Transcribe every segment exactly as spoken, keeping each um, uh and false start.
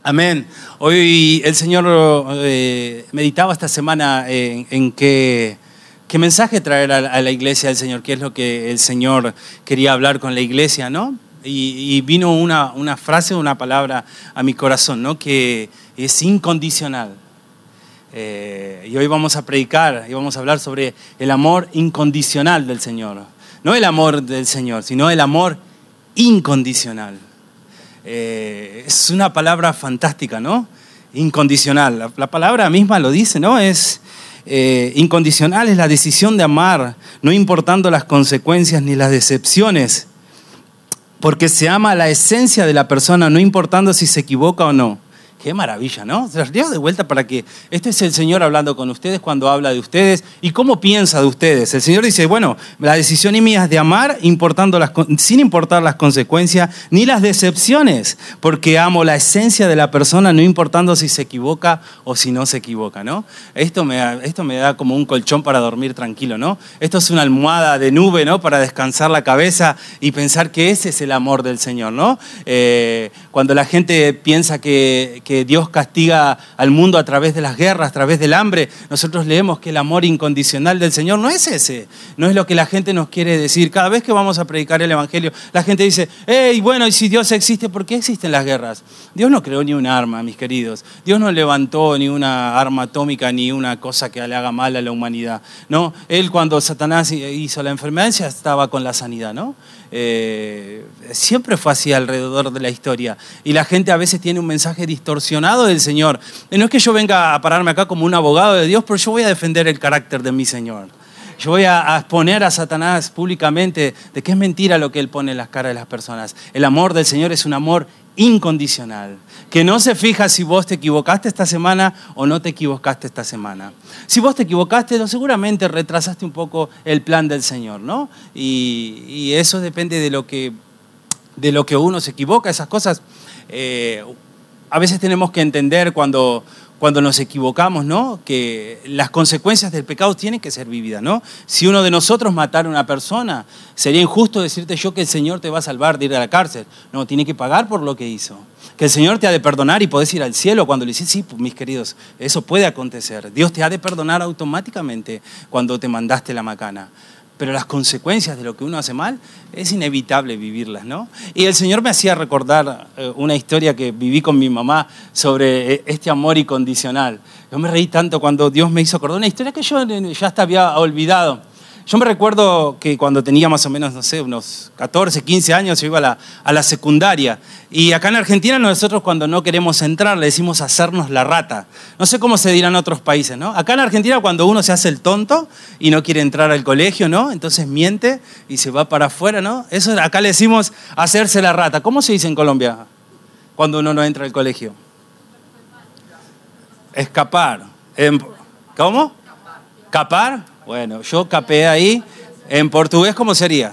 Amén. Hoy el Señor eh, meditaba esta semana en, en qué, qué mensaje traer a, a la iglesia del Señor, qué es lo que el Señor quería hablar con la iglesia, ¿no? Y, y vino una, una frase, una palabra a mi corazón, ¿no? Que es incondicional. Eh, y hoy vamos a predicar y vamos a hablar sobre el amor incondicional del Señor. No el amor del Señor, sino el amor incondicional. Eh, es una palabra fantástica, ¿no? Incondicional. La, la palabra misma lo dice, ¿no? Es eh, incondicional, es la decisión de amar, no importando las consecuencias ni las decepciones, porque se ama la esencia de la persona, no importando si se equivoca o no. Qué maravilla, ¿no? Se los llevo de vuelta para que este es el Señor hablando con ustedes cuando habla de ustedes y cómo piensa de ustedes. El Señor dice, bueno, la decisión mía es de amar importando las, sin importar las consecuencias ni las decepciones, porque amo la esencia de la persona, no importando si se equivoca o si no se equivoca, ¿no? Esto me da, esto me da como un colchón para dormir tranquilo, ¿no? Esto es una almohada de nube, ¿no? Para descansar la cabeza y pensar que ese es el amor del Señor, ¿no? Eh, cuando la gente piensa que que Dios castiga al mundo a través de las guerras, a través del hambre, nosotros leemos que el amor incondicional del Señor no es ese, no es lo que la gente nos quiere decir. Cada vez que vamos a predicar el Evangelio, la gente dice, hey, bueno, y si Dios existe, ¿por qué existen las guerras? Dios no creó ni un arma, mis queridos. Dios no levantó ni una arma atómica, ni una cosa que le haga mal a la humanidad, ¿no? Él, cuando Satanás hizo la enfermedad, ya estaba con la sanidad, ¿no? Eh, siempre fue así alrededor de la historia y la gente a veces tiene un mensaje distorsionado del Señor. No es que yo venga a pararme acá como un abogado de Dios, pero yo voy a defender el carácter de mi Señor. Yo voy a, a exponer a Satanás públicamente de que es mentira lo que él pone en las caras de las personas. El amor del Señor es un amor incondicional, que no se fija si vos te equivocaste esta semana o no te equivocaste esta semana. Si vos te equivocaste, seguramente retrasaste un poco el plan del Señor, ¿no? Y, y eso depende de lo que, de lo que uno se equivoca, esas cosas. Eh, a veces tenemos que entender cuando... Cuando nos equivocamos, ¿no? Que las consecuencias del pecado tienen que ser vividas, ¿no? Si uno de nosotros matara a una persona, sería injusto decirte yo que el Señor te va a salvar de ir a la cárcel. No, tiene que pagar por lo que hizo. Que el Señor te ha de perdonar y podés ir al cielo cuando le dices, sí, mis queridos, eso puede acontecer. Dios te ha de perdonar automáticamente cuando te mandaste la macana. Pero las consecuencias de lo que uno hace mal es inevitable vivirlas, ¿no? Y el Señor me hacía recordar una historia que viví con mi mamá sobre este amor incondicional. Yo me reí tanto cuando Dios me hizo acordar una historia que yo ya hasta había olvidado. Yo me recuerdo que cuando tenía más o menos, no sé, unos catorce, quince años, yo iba a la, a la secundaria. Y acá en Argentina nosotros cuando no queremos entrar le decimos hacernos la rata. No sé cómo se dirá en otros países, ¿no? Acá en Argentina cuando uno se hace el tonto y no quiere entrar al colegio, ¿no? Entonces miente y se va para afuera, ¿no? Eso acá le decimos hacerse la rata. ¿Cómo se dice en Colombia cuando uno no entra al colegio? Escapar. ¿Cómo? ¿Capar? Bueno, yo capeé ahí. En portugués, ¿cómo sería?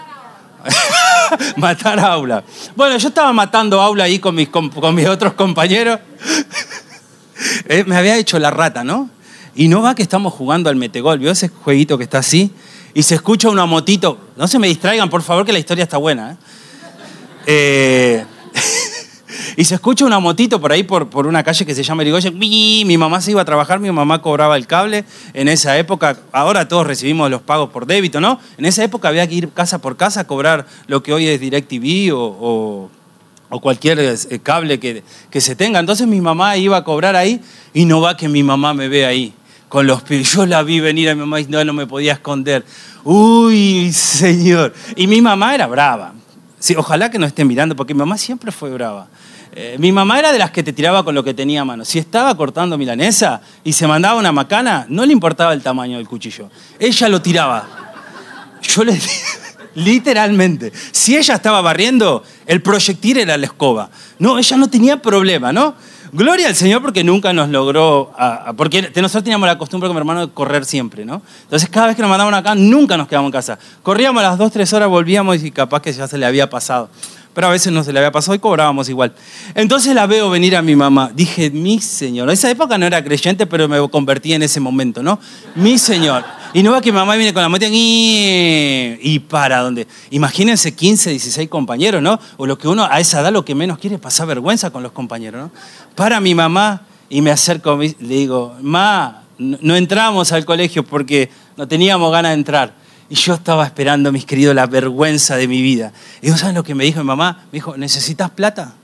Matar aula. Bueno, yo estaba matando aula ahí con mis, con, con mis otros compañeros. eh, me había hecho la rata, ¿no? Y no va que estamos jugando al metegol. ¿Vio ese jueguito que está así? Y se escucha una motito. No se me distraigan, por favor, que la historia está buena. ¿eh? eh Y se escucha una motito por ahí, por, por una calle que se llama Irigoyen. Mi mamá se iba a trabajar, mi mamá cobraba el cable. En esa época, ahora todos recibimos los pagos por débito, ¿no? En esa época había que ir casa por casa a cobrar lo que hoy es DirecTV o, o, o cualquier cable que, que se tenga. Entonces mi mamá iba a cobrar ahí y no va que mi mamá me ve ahí con los pies. Yo la vi venir a mi mamá y no, no me podía esconder. Uy, señor. Y mi mamá era brava. Sí, ojalá que no esté mirando, porque mi mamá siempre fue brava. Eh, mi mamá era de las que te tiraba con lo que tenía a mano. Si estaba cortando milanesa y se mandaba una macana, no le importaba el tamaño del cuchillo. Ella lo tiraba. Yo le literalmente. Si ella estaba barriendo, el proyectil era la escoba. No, ella no tenía problema, ¿no? Gloria al Señor porque nunca nos logró... A, a, porque nosotros teníamos la costumbre con mi hermano de correr siempre, ¿no? Entonces cada vez que nos mandaban acá, nunca nos quedábamos en casa. Corríamos a las dos, tres horas, volvíamos y capaz que ya se le había pasado. Pero a veces no se le había pasado y cobrábamos igual. Entonces la veo venir a mi mamá. Dije, mi Señor. En esa época no era creyente, pero me convertí en ese momento, ¿no? Mi Señor. Y no va que mi mamá viene con la moto y, y para donde. Imagínense quince, dieciséis compañeros, ¿no? O lo que uno a esa edad lo que menos quiere es pasar vergüenza con los compañeros, ¿no? Para mi mamá y me acerco, le digo, ma, no entramos al colegio porque no teníamos ganas de entrar. Y yo estaba esperando, mis queridos, la vergüenza de mi vida. Y digo, ¿saben lo que me dijo mi mamá? Me dijo, ¿necesitas plata?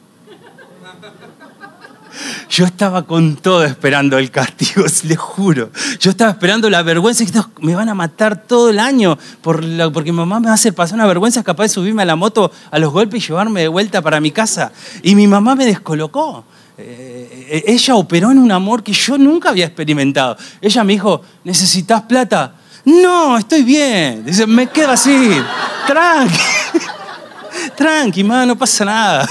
Yo estaba con todo esperando el castigo, les juro. Yo estaba esperando la vergüenza y que me van a matar todo el año por la, porque mi mamá me va a hacer pasar una vergüenza, capaz de subirme a la moto a los golpes y llevarme de vuelta para mi casa. Y mi mamá me descolocó. Eh, ella operó en un amor que yo nunca había experimentado. Ella me dijo, ¿necesitas plata? No, estoy bien. Dice, me quedo así. Tranqui. Tranqui, ma, no pasa nada.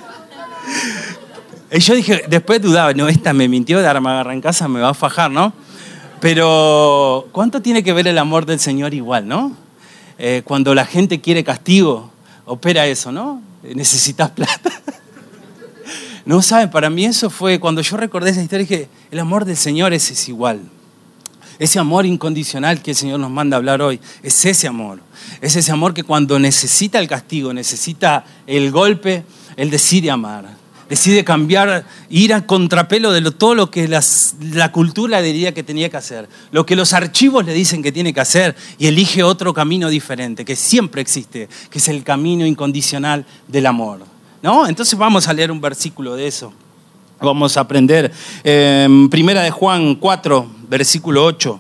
Y yo dije, después dudaba, no, esta me mintió, de ahora me agarra en casa, me va a fajar, ¿no? Pero, ¿cuánto tiene que ver el amor del Señor igual, no? Eh, cuando la gente quiere castigo, opera eso, ¿no? Necesitas plata. No, ¿saben? Para mí eso fue, cuando yo recordé esa historia, dije, el amor del Señor es, es igual. Ese amor incondicional que el Señor nos manda a hablar hoy, es ese amor. Es ese amor que cuando necesita el castigo, necesita el golpe, Él decide amar. Decide cambiar, ir a contrapelo de lo, todo lo que las, la cultura le diría que tenía que hacer, lo que los archivos le dicen que tiene que hacer, y elige otro camino diferente, que siempre existe, que es el camino incondicional del amor, ¿no? Entonces vamos a leer un versículo de eso. Vamos a aprender. Eh, Primera de Juan cuatro, versículo ocho.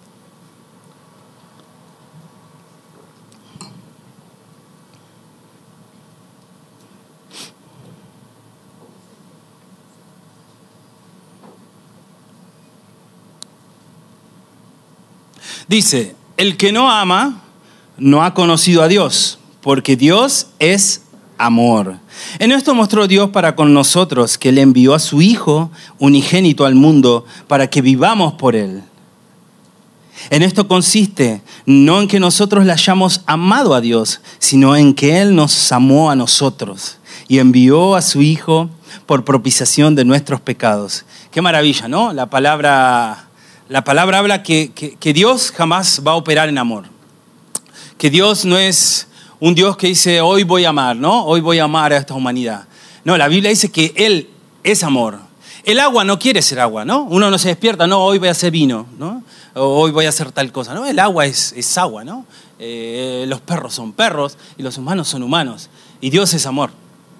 Dice, el que no ama no ha conocido a Dios, porque Dios es amor. En esto mostró Dios para con nosotros, que Él envió a su Hijo unigénito al mundo para que vivamos por Él. En esto consiste, no en que nosotros le hayamos amado a Dios, sino en que Él nos amó a nosotros y envió a su Hijo por propiciación de nuestros pecados. Qué maravilla, ¿no? La palabra... La palabra habla que, que, que Dios jamás va a operar en amor. Que Dios no es un Dios que dice, hoy voy a amar, ¿no? Hoy voy a amar a esta humanidad. No, la Biblia dice que Él es amor. El agua no quiere ser agua, ¿no? Uno no se despierta, no, hoy voy a hacer vino, ¿no? O hoy voy a hacer tal cosa, ¿no? El agua es, es agua, ¿no? Eh, los perros son perros y los humanos son humanos. Y Dios es amor.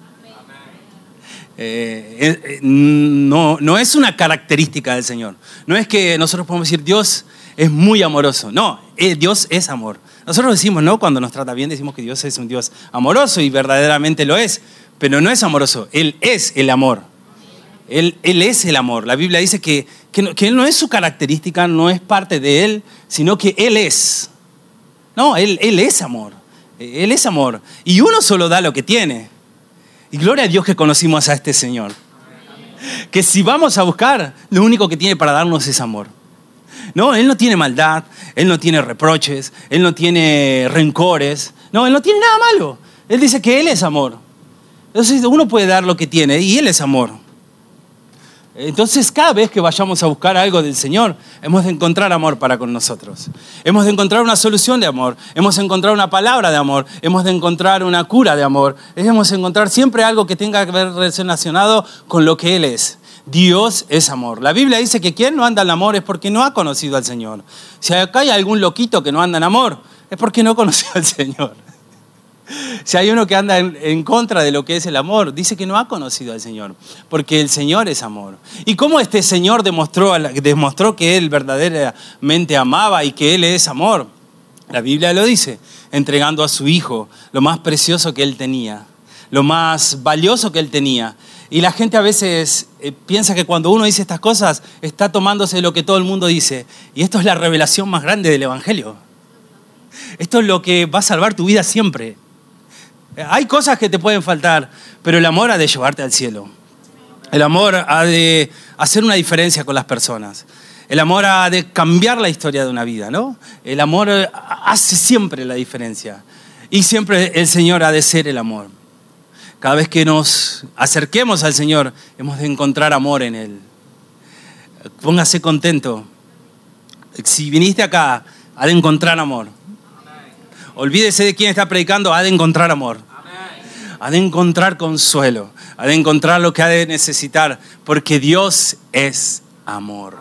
Eh, eh, no, no es una característica del Señor. No es que nosotros podemos decir Dios es muy amoroso. No, eh, Dios es amor. Nosotros decimos, ¿no? Cuando nos trata bien decimos que Dios es un Dios amoroso y verdaderamente lo es. Pero no es amoroso, Él es el amor. Él, él es el amor. La Biblia dice que, que, no, que Él no es su característica, no es parte de Él, sino que Él es. No, Él, él es amor. Él es amor. Y uno solo da lo que tiene. Y gloria a Dios que conocimos a este Señor. Que si vamos a buscar, lo único que tiene para darnos es amor. No, Él no tiene maldad, Él no tiene reproches, Él no tiene rencores. No, Él no tiene nada malo. Él dice que Él es amor. Entonces uno puede dar lo que tiene y Él es amor. Entonces cada vez que vayamos a buscar algo del Señor, hemos de encontrar amor para con nosotros. Hemos de encontrar una solución de amor. Hemos de encontrar una palabra de amor. Hemos de encontrar una cura de amor. Hemos de encontrar siempre algo que tenga que ver relacionado con lo que Él es. Dios es amor. La Biblia dice que quien no anda en amor es porque no ha conocido al Señor. Si acá hay algún loquito que no anda en amor, es porque no conoció al Señor. Si hay uno que anda en, en contra de lo que es el amor, dice que no ha conocido al Señor, porque el Señor es amor. ¿Y cómo este Señor demostró, demostró que Él verdaderamente amaba y que Él es amor? La Biblia lo dice, entregando a su Hijo lo más precioso que Él tenía, lo más valioso que Él tenía. Y la gente a veces eh, piensa que cuando uno dice estas cosas, está tomándose lo que todo el mundo dice. Y esto es la revelación más grande del Evangelio. Esto es lo que va a salvar tu vida siempre. Hay cosas que te pueden faltar, pero el amor ha de llevarte al cielo. El amor ha de hacer una diferencia con las personas. El amor ha de cambiar la historia de una vida, ¿no? El amor hace siempre la diferencia. Y siempre el Señor ha de ser el amor. Cada vez que nos acerquemos al Señor, hemos de encontrar amor en Él. Póngase contento. Si viniste acá Ha de encontrar amor. Olvídese de quién está predicando, ha de encontrar amor. Ha de encontrar consuelo. Ha de encontrar lo que ha de necesitar. Porque Dios es amor.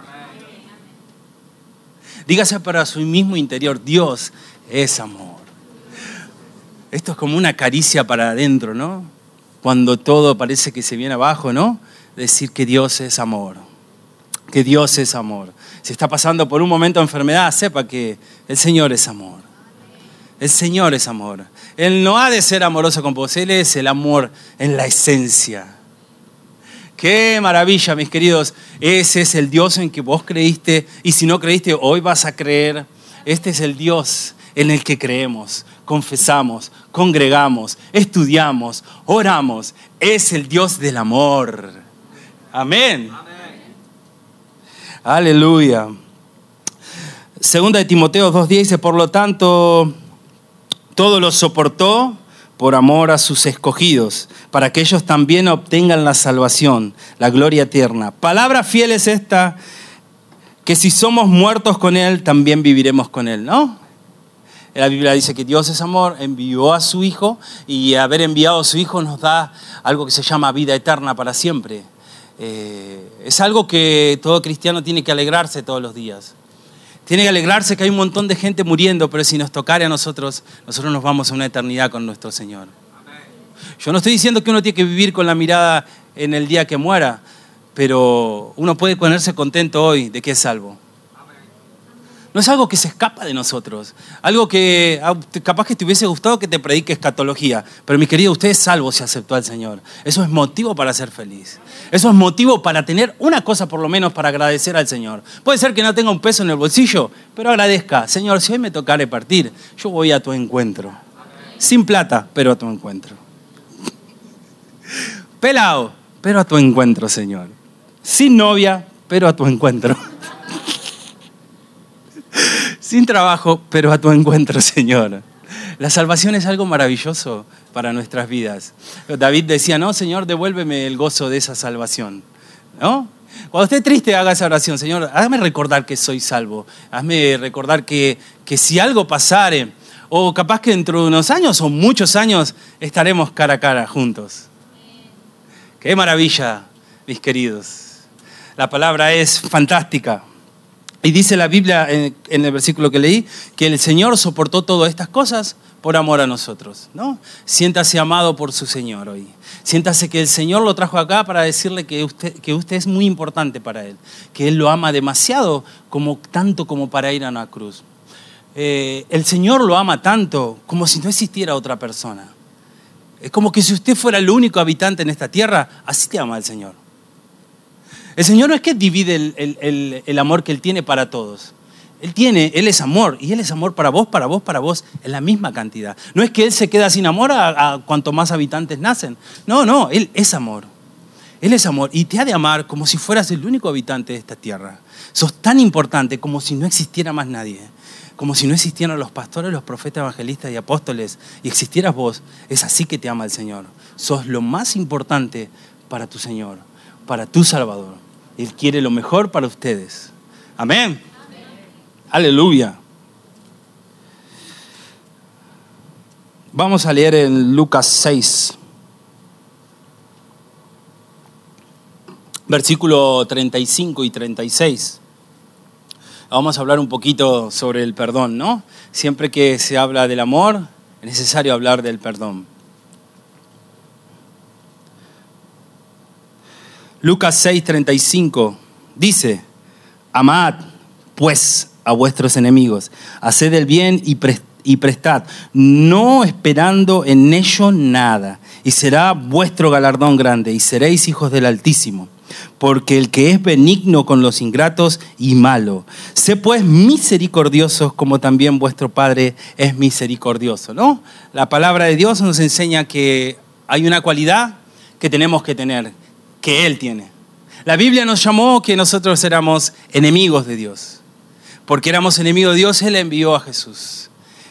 Dígase para su mismo interior, Dios es amor. Esto es como una caricia para adentro, ¿no? Cuando todo parece que se viene abajo, ¿no? Decir que Dios es amor. Que Dios es amor. Si está pasando por un momento de enfermedad, sepa que el Señor es amor. El Señor es amor. Él no ha de ser amoroso con vos. Él es el amor en la esencia. ¡Qué maravilla, mis queridos! Ese es el Dios en que vos creíste. Y si no creíste, hoy vas a creer. Este es el Dios en el que creemos, confesamos, congregamos, estudiamos, oramos. Es el Dios del amor. Amén. Amén. Aleluya. Segunda de Timoteo dos diez dice, por lo tanto, todo lo soportó por amor a sus escogidos, para que ellos también obtengan la salvación, la gloria eterna. Palabra fiel es esta, que si somos muertos con Él, también viviremos con Él, ¿no? La Biblia dice que Dios es amor, envió a su Hijo, y haber enviado a su Hijo nos da algo que se llama vida eterna para siempre. Eh, es algo que todo cristiano tiene que alegrarse todos los días. Tiene que alegrarse que hay un montón de gente muriendo, pero si nos tocare a nosotros, nosotros nos vamos a una eternidad con nuestro Señor. Yo no estoy diciendo que uno tiene que vivir con la mirada en el día que muera, pero uno puede ponerse contento hoy de que es salvo. No es algo que se escapa de nosotros. Algo que capaz que te hubiese gustado que te predique escatología. Pero mi querido, usted es salvo si aceptó al Señor. Eso es motivo para ser feliz. Eso es motivo para tener una cosa por lo menos para agradecer al Señor. Puede ser que no tenga un peso en el bolsillo, pero agradezca. Señor, si hoy me tocare partir, yo voy a tu encuentro. Sin plata, pero a tu encuentro. Pelado, pero a tu encuentro, Señor. Sin novia, pero a tu encuentro. Sin trabajo, pero a tu encuentro, Señor. La salvación es algo maravilloso para nuestras vidas. David decía, no, Señor, devuélveme el gozo de esa salvación. ¿No? Cuando esté triste, haga esa oración. Señor, hazme recordar que soy salvo. Hazme recordar que, que si algo pasare, o capaz que dentro de unos años o muchos años, estaremos cara a cara juntos. ¡Qué maravilla, mis queridos! La palabra es fantástica. Y dice la Biblia en, en el versículo que leí, que el Señor soportó todas estas cosas por amor a nosotros, ¿no? Siéntase amado por su Señor hoy. Siéntase que el Señor lo trajo acá para decirle que usted, que usted es muy importante para Él, que Él lo ama demasiado, como, tanto como para ir a una cruz. Eh, el Señor lo ama tanto como si no existiera otra persona. Es como que si usted fuera el único habitante en esta tierra, así te ama el Señor. El Señor no es que divide el, el, el, el amor que Él tiene para todos. Él tiene, Él es amor, y Él es amor para vos, para vos, para vos, en la misma cantidad. No es que Él se queda sin amor a, a cuanto más habitantes nacen. No, no, Él es amor. Él es amor, y te ha de amar como si fueras el único habitante de esta tierra. Sos tan importante como si no existiera más nadie. Como si no existieran los pastores, los profetas, evangelistas y apóstoles, y existieras vos. Es así que te ama el Señor. Sos lo más importante para tu Señor, para tu Salvador. Él quiere lo mejor para ustedes. Amén. Amén. Aleluya. Vamos a leer en Lucas seis, versículo treinta y cinco y treinta y seis. Vamos a hablar un poquito sobre el perdón, ¿no? Siempre que se habla del amor, es necesario hablar del perdón. Lucas seis, treinta y cinco dice, amad pues a vuestros enemigos, haced el bien y, pre- y prestad, no esperando en ello nada, y será vuestro galardón grande, y seréis hijos del Altísimo, porque el que es benigno con los ingratos y malo, sé pues misericordiosos como también vuestro Padre es misericordioso, ¿no? La palabra de Dios nos enseña que hay una cualidad que tenemos que tener, que Él tiene. La Biblia nos llamó que nosotros éramos enemigos de Dios. Porque éramos enemigos de Dios, Él envió a Jesús.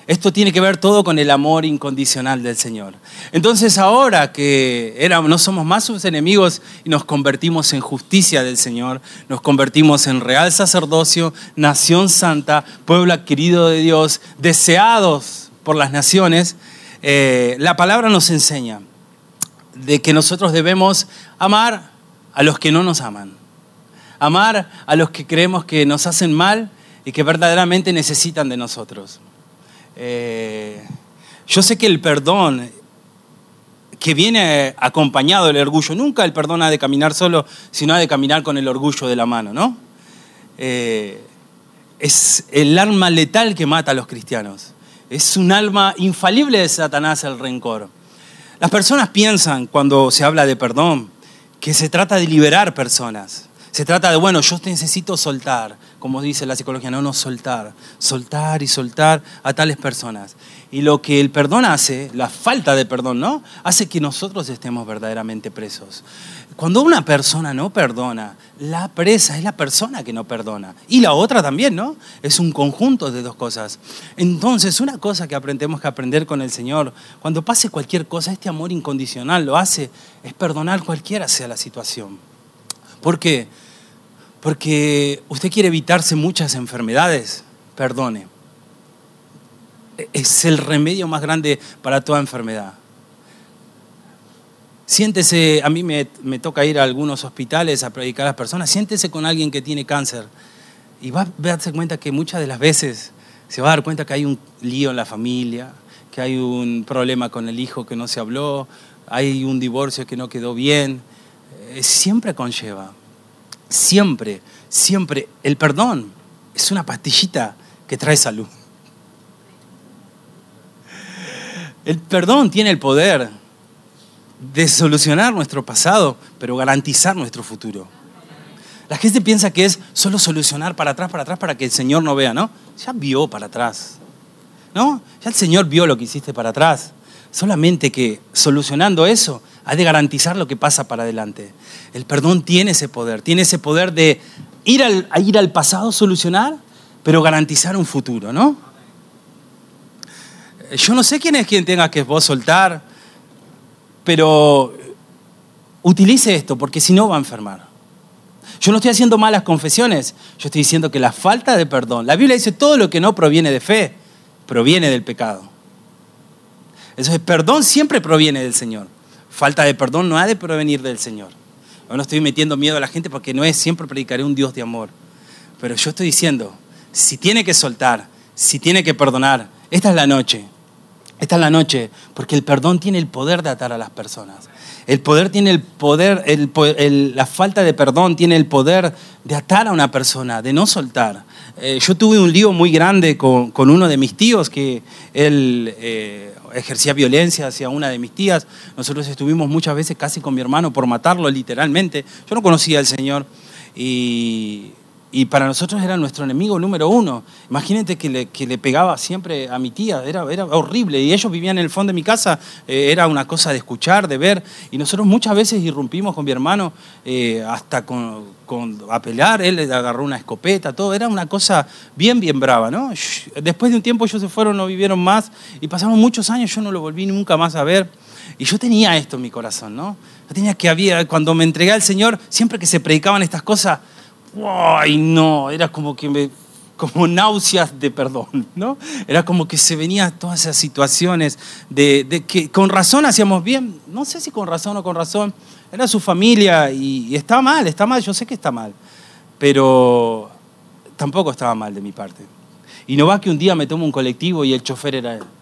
Esto tiene que ver todo con el amor incondicional del Señor. Entonces ahora que éramos, no somos más sus enemigos y nos convertimos en justicia del Señor, nos convertimos en real sacerdocio, nación santa, pueblo adquirido de Dios, deseados por las naciones, eh, la palabra nos enseña de que nosotros debemos amar a los que no nos aman, amar a los que creemos que nos hacen mal y que verdaderamente necesitan de nosotros. Eh, yo sé que el perdón que viene acompañado del orgullo, nunca el perdón ha de caminar solo, sino ha de caminar con el orgullo de la mano, ¿no? Eh, es el arma letal que mata a los cristianos. Es un arma infalible de Satanás el rencor. Las personas piensan, cuando se habla de perdón, que se trata de liberar personas. Se trata de, bueno, yo necesito soltar, como dice la psicología, no, no, soltar, soltar y soltar a tales personas. Y lo que el perdón hace, la falta de perdón, ¿no? Hace que nosotros estemos verdaderamente presos. Cuando una persona no perdona, la presa es la persona que no perdona. Y la otra también, ¿no? Es un conjunto de dos cosas. Entonces, una cosa que aprendemos que aprender con el Señor, cuando pase cualquier cosa, este amor incondicional lo hace, es perdonar cualquiera sea la situación. ¿Por qué? Porque usted quiere evitarse muchas enfermedades, perdone. Es el remedio más grande para toda enfermedad. Siéntese, a mí me, me toca ir a algunos hospitales a predicar a las personas, siéntese con alguien que tiene cáncer y va a darse cuenta que muchas de las veces se va a dar cuenta que hay un lío en la familia, que hay un problema con el hijo que no se habló, hay un divorcio que no quedó bien. Eh, siempre conlleva, siempre, siempre, el perdón es una pastillita que trae salud. El perdón tiene el poder de solucionar nuestro pasado, pero garantizar nuestro futuro. La gente piensa que es solo solucionar para atrás, para atrás, para que el Señor no vea, ¿no? Ya vio para atrás, ¿no? Ya el Señor vio lo que hiciste para atrás. Solamente que solucionando eso, ha de garantizar lo que pasa para adelante. El perdón tiene ese poder, tiene ese poder de ir al, a ir al pasado, solucionar, pero garantizar un futuro, ¿no? Yo no sé quién es quien tenga que vos soltar, pero utilice esto, porque si no va a enfermar. Yo no estoy haciendo malas confesiones, yo estoy diciendo que la falta de perdón, la Biblia dice todo lo que no proviene de fe, proviene del pecado. Entonces, perdón siempre proviene del Señor. Falta de perdón no ha de provenir del Señor. Yo no estoy metiendo miedo a la gente porque no es siempre predicaré un Dios de amor. Pero yo estoy diciendo, si tiene que soltar, si tiene que perdonar, esta es la noche. Esta es la noche, porque el perdón tiene el poder de atar a las personas. El poder tiene el poder, el, el, la falta de perdón tiene el poder de atar a una persona, de no soltar. Eh, yo tuve un lío muy grande con, con uno de mis tíos, que él eh, ejercía violencia hacia una de mis tías. Nosotros estuvimos muchas veces casi con mi hermano por matarlo, literalmente. Yo no conocía al Señor y... Y para nosotros era nuestro enemigo número uno. Imagínate que le, que le pegaba siempre a mi tía, era, era horrible. Y ellos vivían en el fondo de mi casa, eh, era una cosa de escuchar, de ver. Y nosotros muchas veces irrumpimos con mi hermano eh, hasta con, con, a pelear. Él le agarró una escopeta, todo. Era una cosa bien, bien brava, ¿no? Después de un tiempo ellos se fueron, no vivieron más. Y pasaron muchos años, yo no lo volví nunca más a ver. Y yo tenía esto en mi corazón, ¿no? Yo tenía que había, cuando me entregué al Señor, siempre que se predicaban estas cosas, ¡ay, no! Era como que me, como náuseas de perdón, ¿no? Era como que se venían todas esas situaciones de, de que con razón hacíamos bien, no sé si con razón o con razón, era su familia y, y está mal, está mal, yo sé que está mal, pero tampoco estaba mal de mi parte. Y no va que un día me tomo un colectivo y el chofer era él.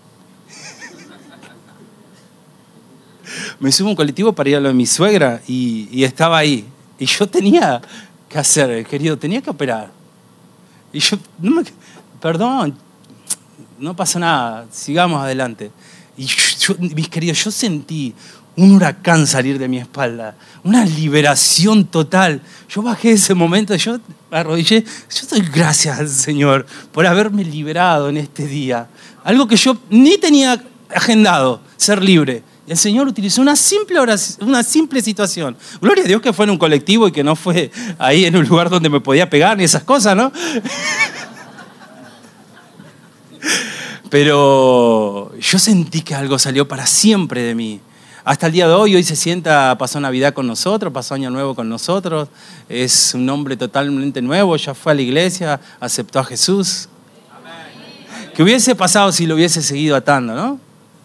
Me subo a un colectivo para ir a lo de mi suegra y, y estaba ahí. Y yo tenía... ¿Qué hacer, querido? Tenía que operar. Y yo, no me, perdón, no pasa nada, sigamos adelante. Y yo, yo, mis queridos, yo sentí un huracán salir de mi espalda, una liberación total. Yo bajé ese momento, yo me arrodillé, yo doy gracias al Señor por haberme liberado en este día. Algo que yo ni tenía agendado, ser libre. El Señor utilizó una simple oración, una simple situación. Gloria a Dios que fue en un colectivo y que no fue ahí en un lugar donde me podía pegar ni esas cosas, ¿no? Pero yo sentí que algo salió para siempre de mí. Hasta el día de hoy, hoy se sienta, pasó Navidad con nosotros, pasó Año Nuevo con nosotros. Es un hombre totalmente nuevo, ya fue a la iglesia, aceptó a Jesús. Amén. ¿Qué hubiese pasado si lo hubiese seguido atando, no?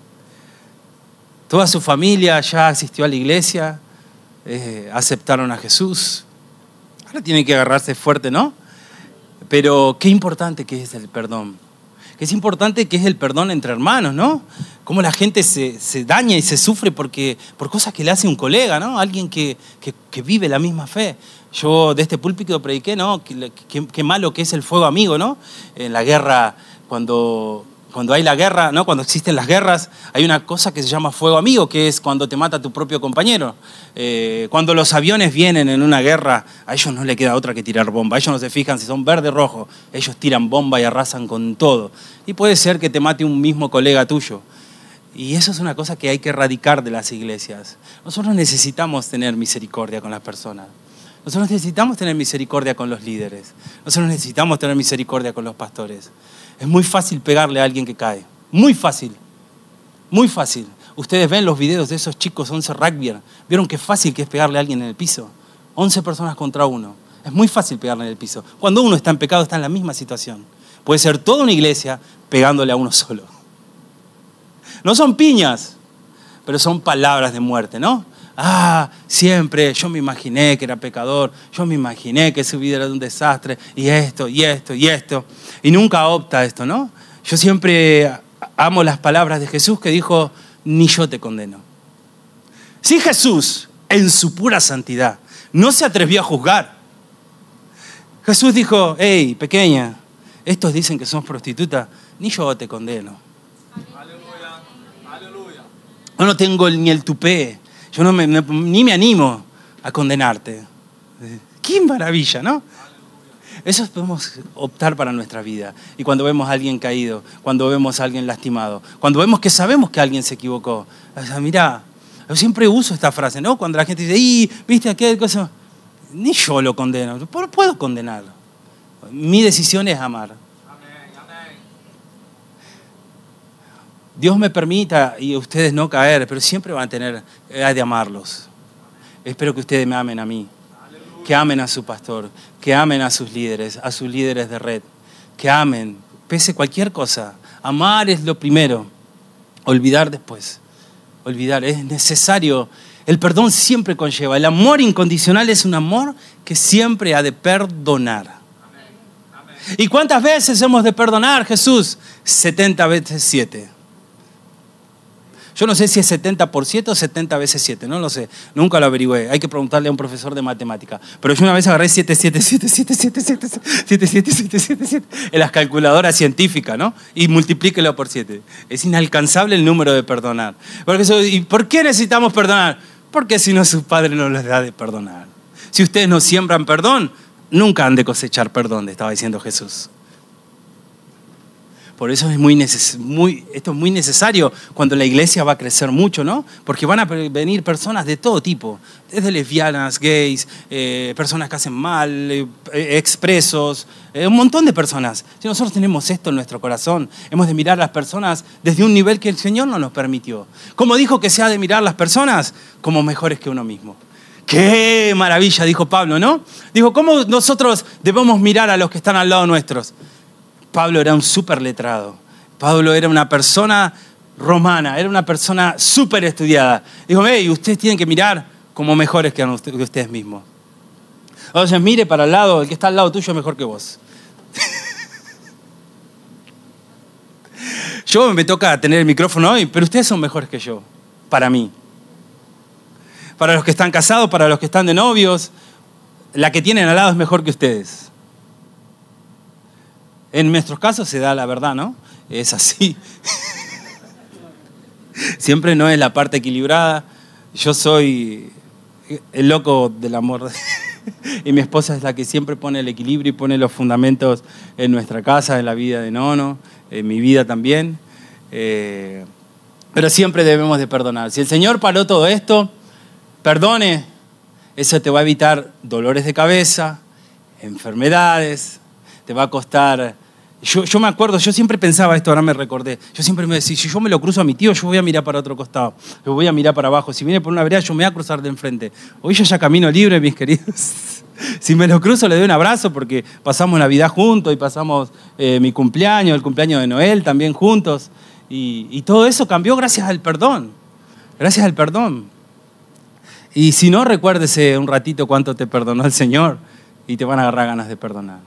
Toda su familia ya asistió a la iglesia, eh, aceptaron a Jesús. Ahora tienen que agarrarse fuerte, ¿no? Pero qué importante que es el perdón. Que es importante que es el perdón entre hermanos, ¿no? Cómo la gente se, se daña y se sufre porque, por cosas que le hace un colega, ¿no? Alguien que, que, que vive la misma fe. Yo de este púlpito prediqué, ¿no? Qué malo que es el fuego amigo, ¿no? En la guerra, cuando, cuando hay la guerra, ¿no? Cuando existen las guerras, hay una cosa que se llama fuego amigo, que es cuando te mata tu propio compañero. Eh, cuando los aviones vienen en una guerra, a ellos no les queda otra que tirar bomba. Ellos no se fijan si son verde o rojo. Ellos tiran bomba y arrasan con todo. Y puede ser que te mate un mismo colega tuyo. Y eso es una cosa que hay que erradicar de las iglesias. Nosotros necesitamos tener misericordia con las personas. Nosotros necesitamos tener misericordia con los líderes. Nosotros necesitamos tener misericordia con los pastores. Es muy fácil pegarle a alguien que cae. Muy fácil. Muy fácil. Ustedes ven los videos de esos chicos once rugby. ¿Vieron qué fácil que es pegarle a alguien en el piso? once personas contra uno. Es muy fácil pegarle en el piso. Cuando uno está en pecado está en la misma situación. Puede ser toda una iglesia pegándole a uno solo. No son piñas, pero son palabras de muerte, ¿no? Ah, siempre yo me imaginé que era pecador, yo me imaginé que su vida era un desastre, y esto, y esto, y esto. Y nunca opta esto, ¿no? Yo siempre amo las palabras de Jesús que dijo, ni yo te condeno. Si Jesús, en su pura santidad, no se atrevió a juzgar, Jesús dijo, hey, pequeña, estos dicen que sos prostituta, ni yo te condeno. Aleluya, aleluya. Yo no tengo ni el tupé, yo no me, ni me animo a condenarte. Qué maravilla, ¿no? Eso podemos optar para nuestra vida. Y cuando vemos a alguien caído, cuando vemos a alguien lastimado, cuando vemos que sabemos que alguien se equivocó, o sea, mirá, yo siempre uso esta frase, ¿no? Cuando la gente dice, ¡y! ¿Viste aquel cosa? Ni yo lo condeno, no puedo condenarlo. Mi decisión es amar. Amén, amén. Dios me permita y ustedes no caer, pero siempre van a tener, hay de amarlos. Espero que ustedes me amen a mí. Que amen a su pastor, que amen a sus líderes, a sus líderes de red, que amen, pese cualquier cosa. Amar es lo primero, olvidar después. Olvidar, es necesario. El perdón siempre conlleva. El amor incondicional es un amor que siempre ha de perdonar. Amén. Amén. ¿Y cuántas veces hemos de perdonar, Jesús? setenta veces siete. Yo no sé si es setenta por siete o setenta veces siete, no lo sé. Nunca lo averigüé. Hay que preguntarle a un profesor de matemática. Pero yo una vez agarré siete, siete, siete, siete, siete, siete, siete, siete, siete, siete, siete en las calculadoras científicas, ¿no? Y multiplíquelo por siete. Es inalcanzable el número de perdonar. ¿Y por qué necesitamos perdonar? Porque si no, su Padre no les da de perdonar. Si ustedes no siembran perdón, nunca han de cosechar perdón, estaba diciendo Jesús. Por eso es muy neces- muy, esto es muy necesario cuando la iglesia va a crecer mucho, ¿no? Porque van a venir personas de todo tipo, desde lesbianas, gays, eh, personas que hacen mal, eh, expresos, eh, un montón de personas. Si nosotros tenemos esto en nuestro corazón, hemos de mirar a las personas desde un nivel que el Señor no nos permitió. ¿Cómo dijo que se ha de mirar a las personas? Como mejores que uno mismo. ¡Qué maravilla!, dijo Pablo, ¿no? Dijo, ¿cómo nosotros debemos mirar a los que están al lado nuestros? Pablo era un súper letrado. Pablo era una persona romana, era una persona súper estudiada. Dijo, hey, ustedes tienen que mirar como mejores que ustedes mismos. Entonces, mire para el lado, el que está al lado tuyo es mejor que vos. Yo me toca tener el micrófono hoy, pero ustedes son mejores que yo, para mí. Para los que están casados, para los que están de novios, la que tienen al lado es mejor que ustedes. En nuestros casos se da la verdad, ¿no? Es así. Siempre no es la parte equilibrada. Yo soy el loco del amor. Y mi esposa es la que siempre pone el equilibrio y pone los fundamentos en nuestra casa, en la vida de Nono, en mi vida también. Eh, pero siempre debemos de perdonar. Si el Señor paró todo esto, perdone. Eso te va a evitar dolores de cabeza, enfermedades, te va a costar Yo, yo me acuerdo, yo siempre pensaba esto, ahora me recordé. Yo siempre me decía, si yo me lo cruzo a mi tío, yo voy a mirar para otro costado. Yo voy a mirar para abajo. Si viene por una vereda, yo me voy a cruzar de enfrente. Hoy yo ya camino libre, mis queridos. Si me lo cruzo, le doy un abrazo porque pasamos Navidad juntos y pasamos eh, mi cumpleaños, el cumpleaños de Noel también juntos. Y, y todo eso cambió gracias al perdón. Gracias al perdón. Y si no, recuérdese un ratito cuánto te perdonó el Señor y te van a agarrar ganas de perdonar.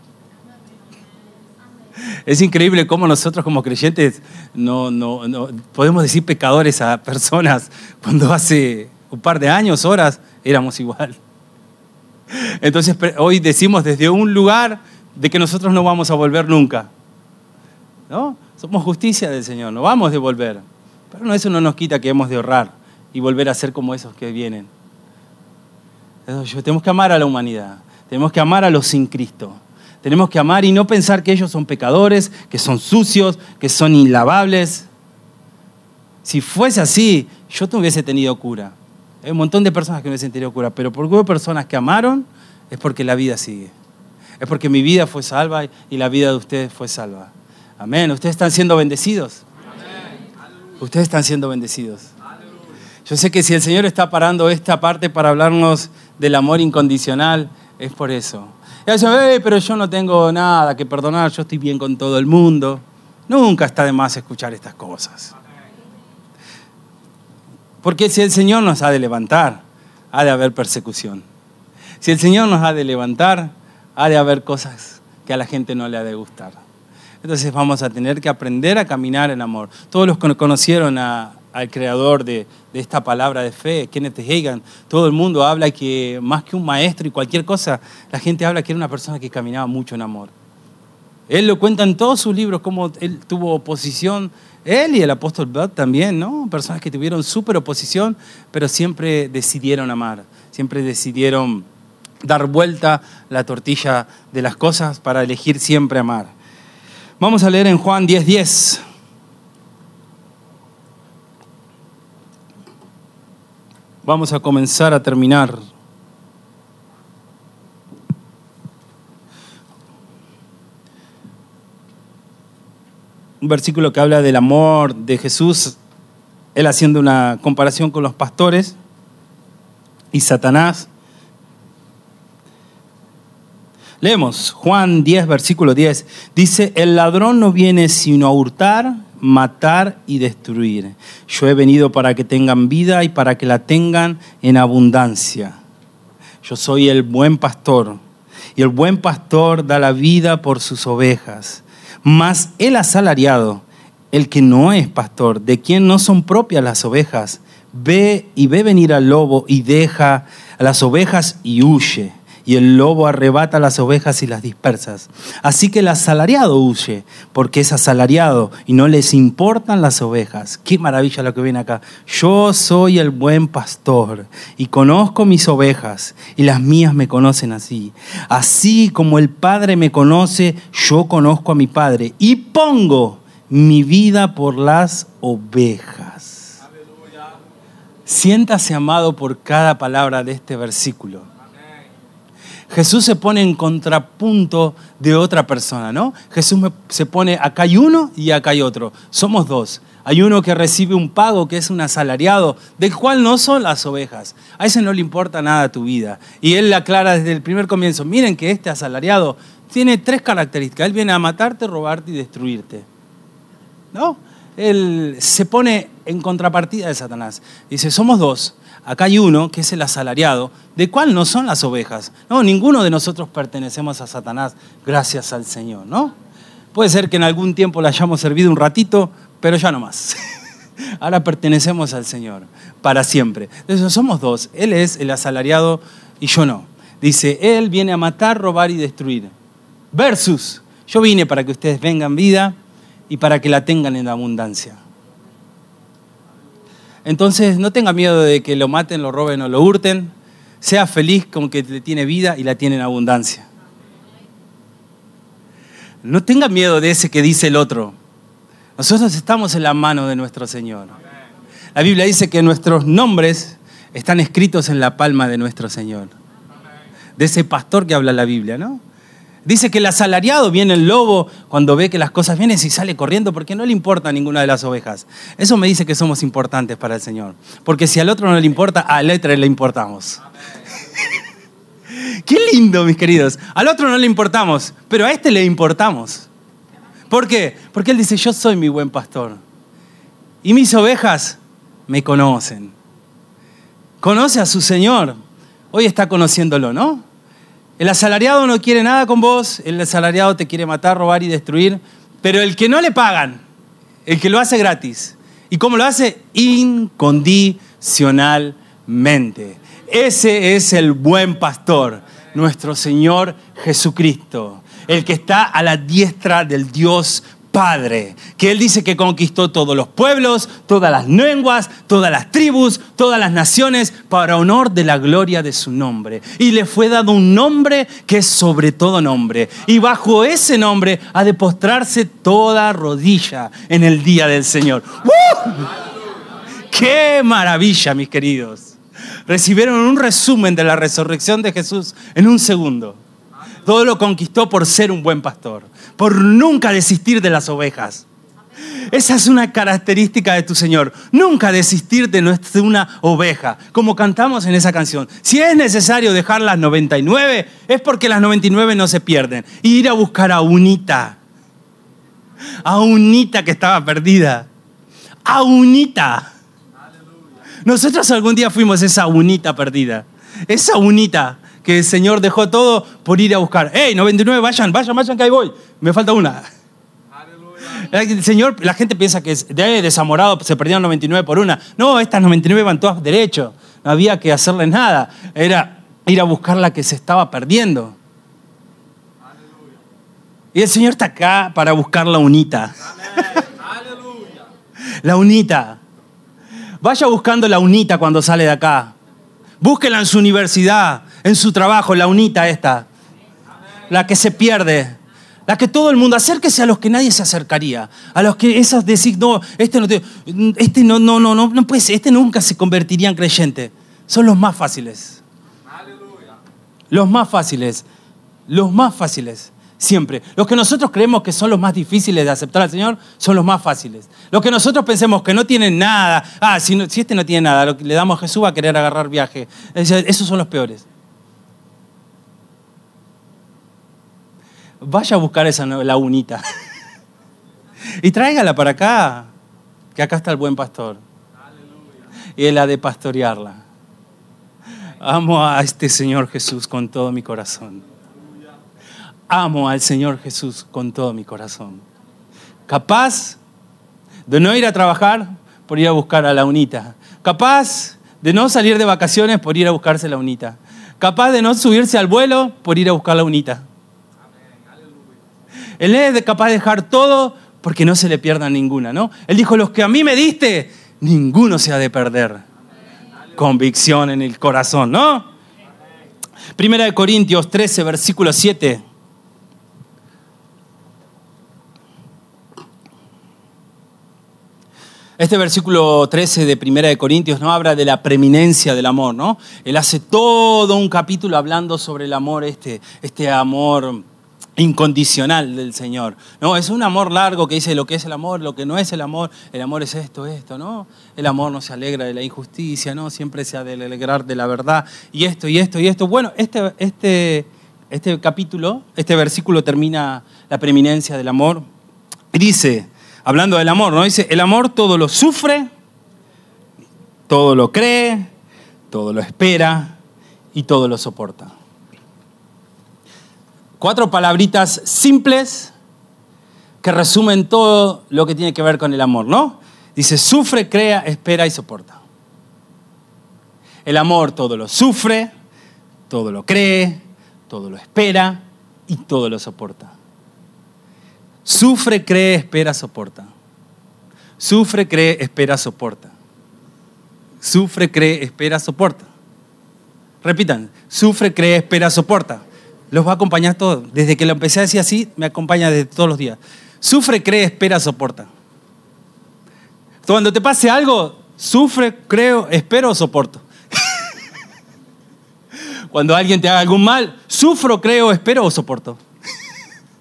Es increíble cómo nosotros como creyentes no, no, no podemos decir pecadores a personas cuando hace un par de años, horas, éramos igual. Entonces hoy decimos desde un lugar de que nosotros no vamos a volver nunca, ¿no? Somos justicia del Señor, no vamos a devolver. Pero no, eso no nos quita que hemos de ahorrar y volver a ser como esos que vienen. Entonces, tenemos que amar a la humanidad, tenemos que amar a los sin Cristo. Tenemos que amar y no pensar que ellos son pecadores, que son sucios, que son inlavables. Si fuese así, yo no hubiese tenido cura. Hay un montón de personas que no hubiesen tenido cura, pero porque hubo personas que amaron, es porque la vida sigue. Es porque mi vida fue salva y la vida de ustedes fue salva. Amén. Ustedes están siendo bendecidos. Amén. Ustedes están siendo bendecidos. Yo sé que si el Señor está parando esta parte para hablarnos del amor incondicional, es por eso. Y dicen, hey, pero yo no tengo nada que perdonar, yo estoy bien con todo el mundo. Nunca está de más escuchar estas cosas. Porque si el Señor nos ha de levantar, ha de haber persecución. Si el Señor nos ha de levantar, ha de haber cosas que a la gente no le ha de gustar. Entonces vamos a tener que aprender a caminar en amor. Todos los que conocieron a, al creador de, de esta palabra de fe, Kenneth Hagin, todo el mundo habla que más que un maestro y cualquier cosa, la gente habla que era una persona que caminaba mucho en amor. Él lo cuenta en todos sus libros, cómo él tuvo oposición, él y el apóstol Bud también, ¿no? Personas que tuvieron súper oposición, pero siempre decidieron amar, siempre decidieron dar vuelta la tortilla de las cosas para elegir siempre amar. Vamos a leer en Juan diez diez. Vamos a comenzar a terminar. Un versículo que habla del amor de Jesús, él haciendo una comparación con los pastores y Satanás. Leemos Juan diez, versículo diez. Dice, el ladrón no viene sino a hurtar, matar y destruir. Yo he venido para que tengan vida y para que la tengan en abundancia. Yo soy el buen pastor y el buen pastor da la vida por sus ovejas. Mas el asalariado, el que no es pastor, de quien no son propias las ovejas, ve y ve venir al lobo y deja a las ovejas y huye. Y el lobo arrebata las ovejas y las dispersa. Así que el asalariado huye, porque es asalariado y no les importan las ovejas. Qué maravilla lo que viene acá. Yo soy el buen pastor y conozco mis ovejas y las mías me conocen así. Así como el Padre me conoce, yo conozco a mi Padre y pongo mi vida por las ovejas. Aleluya. Siéntase amado por cada palabra de este versículo. Jesús se pone en contrapunto de otra persona, ¿no? Jesús se pone, acá hay uno y acá hay otro. Somos dos. Hay uno que recibe un pago, que es un asalariado, del cual no son las ovejas. A ese no le importa nada tu vida. Y él le aclara desde el primer comienzo, miren que este asalariado tiene tres características. Él viene a matarte, robarte y destruirte, ¿no? Él se pone en contrapartida de Satanás. Dice, somos dos. Acá hay uno que es el asalariado, de cual no son las ovejas. No, ninguno de nosotros pertenecemos a Satanás, gracias al Señor, ¿no? Puede ser que en algún tiempo le hayamos servido un ratito, pero ya no más. Ahora pertenecemos al Señor, para siempre. Entonces somos dos. Él es el asalariado y yo no. Dice, Él viene a matar, robar y destruir. Versus, yo vine para que ustedes vengan vida y para que la tengan en abundancia. Entonces no tenga miedo de que lo maten, lo roben o lo hurten. Sea feliz con que le tiene vida y la tiene en abundancia. No tenga miedo de ese que dice el otro. Nosotros estamos en la mano de nuestro Señor. La Biblia dice que nuestros nombres están escritos en la palma de nuestro Señor. De ese pastor que habla la Biblia, ¿no? Dice que el asalariado viene el lobo cuando ve que las cosas vienen y sale corriendo porque no le importa a ninguna de las ovejas. Eso me dice que somos importantes para el Señor. Porque si al otro no le importa, al otro le importamos. Qué lindo, mis queridos. Al otro no le importamos, pero a este le importamos. ¿Por qué? Porque Él dice, yo soy mi buen pastor. Y mis ovejas me conocen. Conoce a su Señor. Hoy está conociéndolo, ¿no? El asalariado no quiere nada con vos, el asalariado te quiere matar, robar y destruir, pero el que no le pagan, el que lo hace gratis. ¿Y cómo lo hace? Incondicionalmente. Ese es el buen pastor, nuestro Señor Jesucristo, el que está a la diestra del Dios Padre, que Él dice que conquistó todos los pueblos, todas las lenguas, todas las tribus, todas las naciones, para honor de la gloria de su nombre. Y le fue dado un nombre que es sobre todo nombre. Y bajo ese nombre ha de postrarse toda rodilla en el día del Señor. ¡Uh! ¡Qué maravilla, mis queridos! Recibieron un resumen de la resurrección de Jesús en un segundo. Todo lo conquistó por ser un buen pastor, por nunca desistir de las ovejas. Esa es una característica de tu Señor. Nunca desistir de una oveja, como cantamos en esa canción. Si es necesario dejar las noventa y nueve, es porque las noventa y nueve no se pierden. Y ir a buscar a unita. A unita que estaba perdida. A unita. Nosotros algún día fuimos esa unita perdida. Esa unita que el Señor dejó todo por ir a buscar. ¡Ey, noventa y nueve, vayan, vayan, vayan, que ahí voy! Me falta una. Aleluya. El Señor, la gente piensa que de desamorado se perdieron noventa y nueve por una. No, estas noventa y nueve van todas derecho. No había que hacerles nada. Era ir a buscar la que se estaba perdiendo. Aleluya. Y el Señor está acá para buscar la unita. Aleluya. La unita. Vaya buscando la unita cuando sale de acá. Búsquela en su universidad, en su trabajo, la unita esta. La que se pierde. La que todo el mundo, acérquese a los que nadie se acercaría. A los que esas decís, no, este no, te, este no, no, no, no, no puede ser, este nunca se convertiría en creyente. Son los más fáciles. Aleluya. Los más fáciles. Los más fáciles. Siempre. Los que nosotros creemos que son los más difíciles de aceptar al Señor son los más fáciles. Los que nosotros pensemos que no tienen nada. Ah, si, no, si este no tiene nada, lo que le damos a Jesús va a querer agarrar viaje. Esos son los peores. Vaya a buscar esa la unita. Y tráigala para acá. Que acá está el buen pastor. Y Él ha de pastorearla. Amo a este Señor Jesús con todo mi corazón. Amo al Señor Jesús con todo mi corazón. Capaz de no ir a trabajar por ir a buscar a la unita. Capaz de no salir de vacaciones por ir a buscarse la unita. Capaz de no subirse al vuelo por ir a buscar la unita. Él es capaz de dejar todo porque no se le pierda ninguna, ¿no? Él dijo, los que a mí me diste, ninguno se ha de perder. Convicción en el corazón, ¿no? Primera de Corintios trece, versículo siete. Este versículo trece de Primera de Corintios no habla de la preeminencia del amor, ¿no? Él hace todo un capítulo hablando sobre el amor, este, este amor incondicional del Señor. No, es un amor largo que dice lo que es el amor, lo que no es el amor. El amor es esto, esto, ¿no? El amor no se alegra de la injusticia, ¿no? Siempre se ha de alegrar de la verdad. Y esto, y esto, y esto. Bueno, este, este, este capítulo, este versículo termina la preeminencia del amor. Y dice, hablando del amor, ¿no? Dice, el amor todo lo sufre, todo lo cree, todo lo espera y todo lo soporta. Cuatro palabritas simples que resumen todo lo que tiene que ver con el amor, ¿no? Dice, sufre, crea, espera y soporta. El amor todo lo sufre, todo lo cree, todo lo espera y todo lo soporta. Sufre, cree, espera, soporta. Sufre, cree, espera, soporta. Sufre, cree, espera, soporta. Repitan, sufre, cree, espera, soporta. Los va a acompañar todo. Desde que lo empecé a decir así, me acompaña desde todos los días. Sufre, cree, espera, soporta. Cuando te pase algo, sufre, creo, espero o soporto. Cuando alguien te haga algún mal, sufro, creo, espero o soporto.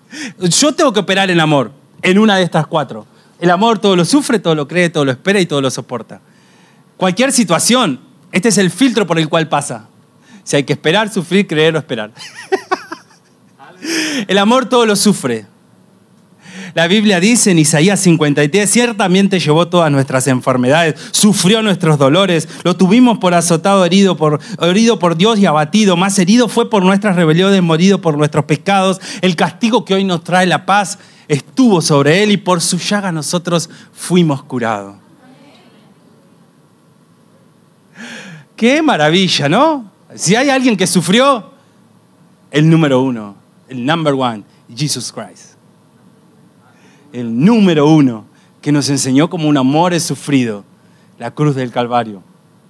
Yo tengo que operar en amor, en una de estas cuatro. El amor todo lo sufre, todo lo cree, todo lo espera y todo lo soporta. Cualquier situación, este es el filtro por el cual pasa. Si hay que esperar, sufrir, creer o esperar. El amor todo lo sufre. La Biblia dice en Isaías cincuenta y tres, ciertamente llevó todas nuestras enfermedades, sufrió nuestros dolores, lo tuvimos por azotado, herido por, herido por Dios y abatido, más herido fue por nuestras rebeliones, morido por nuestros pecados. El castigo que hoy nos trae la paz estuvo sobre él y por su llaga nosotros fuimos curados. Qué maravilla, ¿no? Si hay alguien que sufrió, el número uno, el number one, Jesus Christ. El número uno que nos enseñó cómo un amor es sufrido, la cruz del Calvario.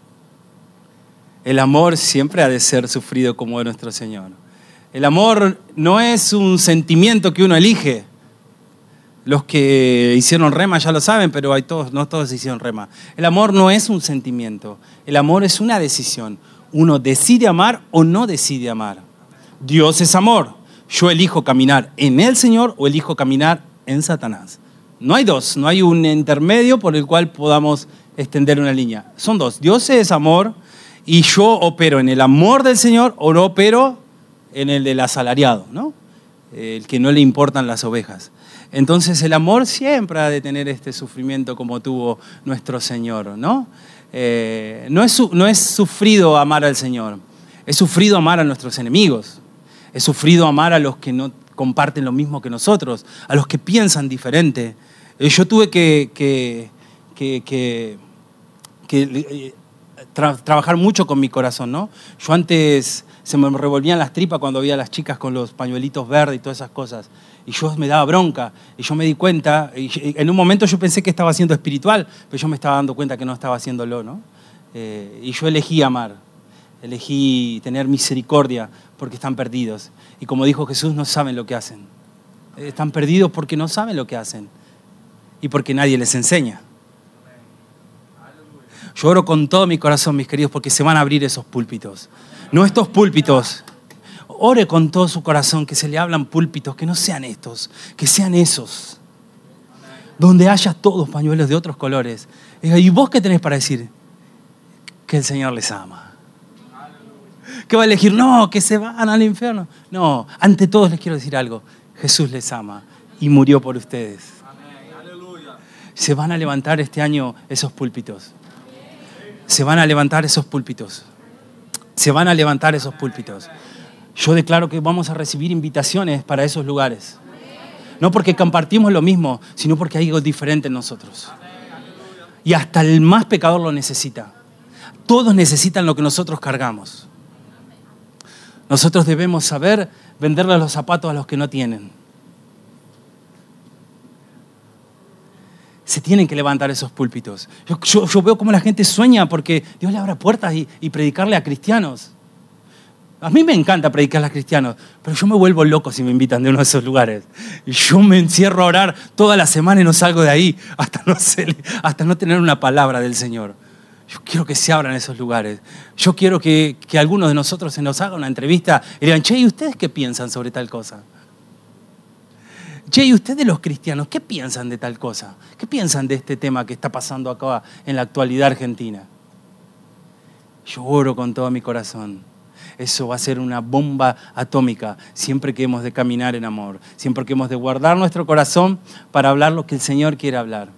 El amor siempre ha de ser sufrido como de nuestro Señor. El amor no es un sentimiento que uno elige. Los que hicieron rema ya lo saben, pero hay todos, no todos hicieron rema. El amor no es un sentimiento. El amor es una decisión. Uno decide amar o no decide amar. Dios es amor. Yo elijo caminar en el Señor o elijo caminar en Satanás. No hay dos, no hay un intermedio por el cual podamos extender una línea. Son dos. Dios es amor y yo opero en el amor del Señor o no opero en el del asalariado, ¿no? El que no le importan las ovejas. Entonces el amor siempre ha de tener este sufrimiento como tuvo nuestro Señor, ¿no? Eh, no es, no es sufrido amar al Señor, es sufrido amar a nuestros enemigos, es sufrido amar a los que no comparten lo mismo que nosotros, a los que piensan diferente. Eh, yo tuve que, que, que, que, que eh, tra- trabajar mucho con mi corazón, ¿no? Yo antes se me revolvían las tripas cuando veía a las chicas con los pañuelitos verdes y todas esas cosas. Y yo me daba bronca, y yo me di cuenta, y en un momento yo pensé que estaba siendo espiritual, pero yo me estaba dando cuenta que no estaba haciéndolo, ¿no? Eh, y yo elegí amar, elegí tener misericordia porque están perdidos. Y como dijo Jesús, no saben lo que hacen. Están perdidos porque no saben lo que hacen y porque nadie les enseña. Yo oro con todo mi corazón, mis queridos, porque se van a abrir esos púlpitos. No estos púlpitos. Ore con todo su corazón que se le hablan púlpitos, que no sean estos, que sean esos. Donde haya todos pañuelos de otros colores. ¿Y vos qué tenés para decir? Que el Señor les ama. ¿Qué va a elegir? No, que se van al infierno. No, ante todos les quiero decir algo. Jesús les ama y murió por ustedes. Se van a levantar este año esos púlpitos. Se van a levantar esos púlpitos. Se van a levantar esos púlpitos. Yo declaro que vamos a recibir invitaciones para esos lugares. No porque compartimos lo mismo, sino porque hay algo diferente en nosotros. Y hasta el más pecador lo necesita. Todos necesitan lo que nosotros cargamos. Nosotros debemos saber venderle los zapatos a los que no tienen. Se tienen que levantar esos púlpitos. Yo, yo, yo veo cómo la gente sueña porque Dios le abre puertas y, y predicarle a cristianos. A mí me encanta predicarle a cristianos, pero yo me vuelvo loco si me invitan de uno de esos lugares. Y yo me encierro a orar toda la semana y no salgo de ahí hasta no, ser, hasta no tener una palabra del Señor. Yo quiero que se abran esos lugares. Yo quiero que, que algunos de nosotros se nos haga una entrevista y digan, che, ¿y ustedes qué piensan sobre tal cosa? Che, ¿y ustedes los cristianos qué piensan de tal cosa? ¿Qué piensan de este tema que está pasando acá en la actualidad argentina? Yo oro con todo mi corazón. Eso va a ser una bomba atómica siempre que hemos de caminar en amor, siempre que hemos de guardar nuestro corazón para hablar lo que el Señor quiere hablar.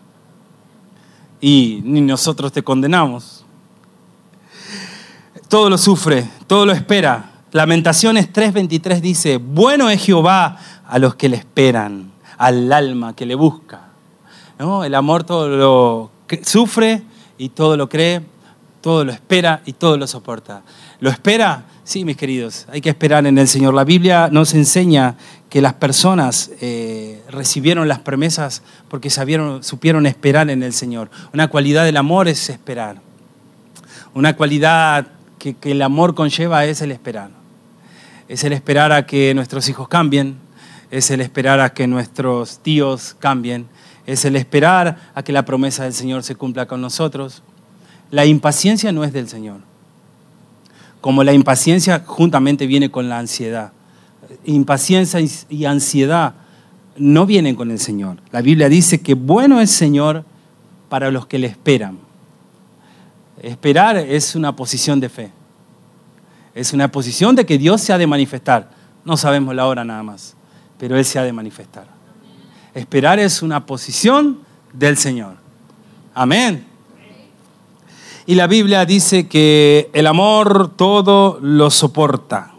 Y ni nosotros te condenamos. Todo lo sufre, todo lo espera. Lamentaciones tres veintitrés dice, bueno es Jehová a los que le esperan, al alma que le busca. ¿No? El amor todo lo sufre y todo lo cree, todo lo espera y todo lo soporta. ¿Lo espera? Sí, mis queridos, hay que esperar en el Señor. La Biblia nos enseña que las personas eh, recibieron las promesas porque sabieron, supieron esperar en el Señor. Una cualidad del amor es esperar. Una cualidad que, que el amor conlleva es el esperar. Es el esperar a que nuestros hijos cambien, es el esperar a que nuestros tíos cambien, es el esperar a que la promesa del Señor se cumpla con nosotros. La impaciencia no es del Señor. Como la impaciencia juntamente viene con la ansiedad. Impaciencia y ansiedad no vienen con el Señor. La Biblia dice que bueno es el Señor para los que le esperan. Esperar es una posición de fe. Es una posición de que Dios se ha de manifestar. No sabemos la hora nada más, pero Él se ha de manifestar. Esperar es una posición del Señor. Amén. Y la Biblia dice que el amor todo lo soporta.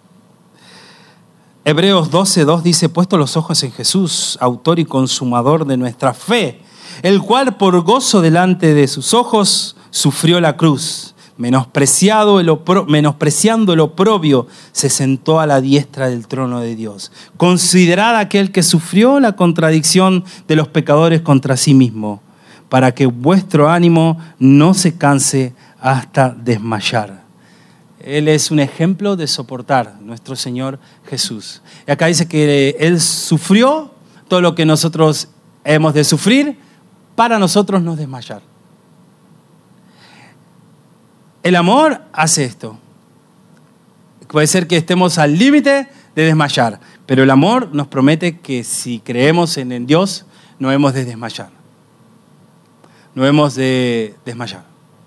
Hebreos doce dos dice, puesto los ojos en Jesús, autor y consumador de nuestra fe, el cual por gozo delante de sus ojos sufrió la cruz, menospreciado el opro, menospreciando el oprobio, se sentó a la diestra del trono de Dios. Considerad aquel que sufrió la contradicción de los pecadores contra sí mismo, para que vuestro ánimo no se canse hasta desmayar. Él es un ejemplo de soportar, nuestro Señor Jesús. Y acá dice que Él sufrió todo lo que nosotros hemos de sufrir para nosotros no desmayar. El amor hace esto. Puede ser que estemos al límite de desmayar, pero el amor nos promete que si creemos en Dios, no hemos de desmayar. No hemos de desmayar.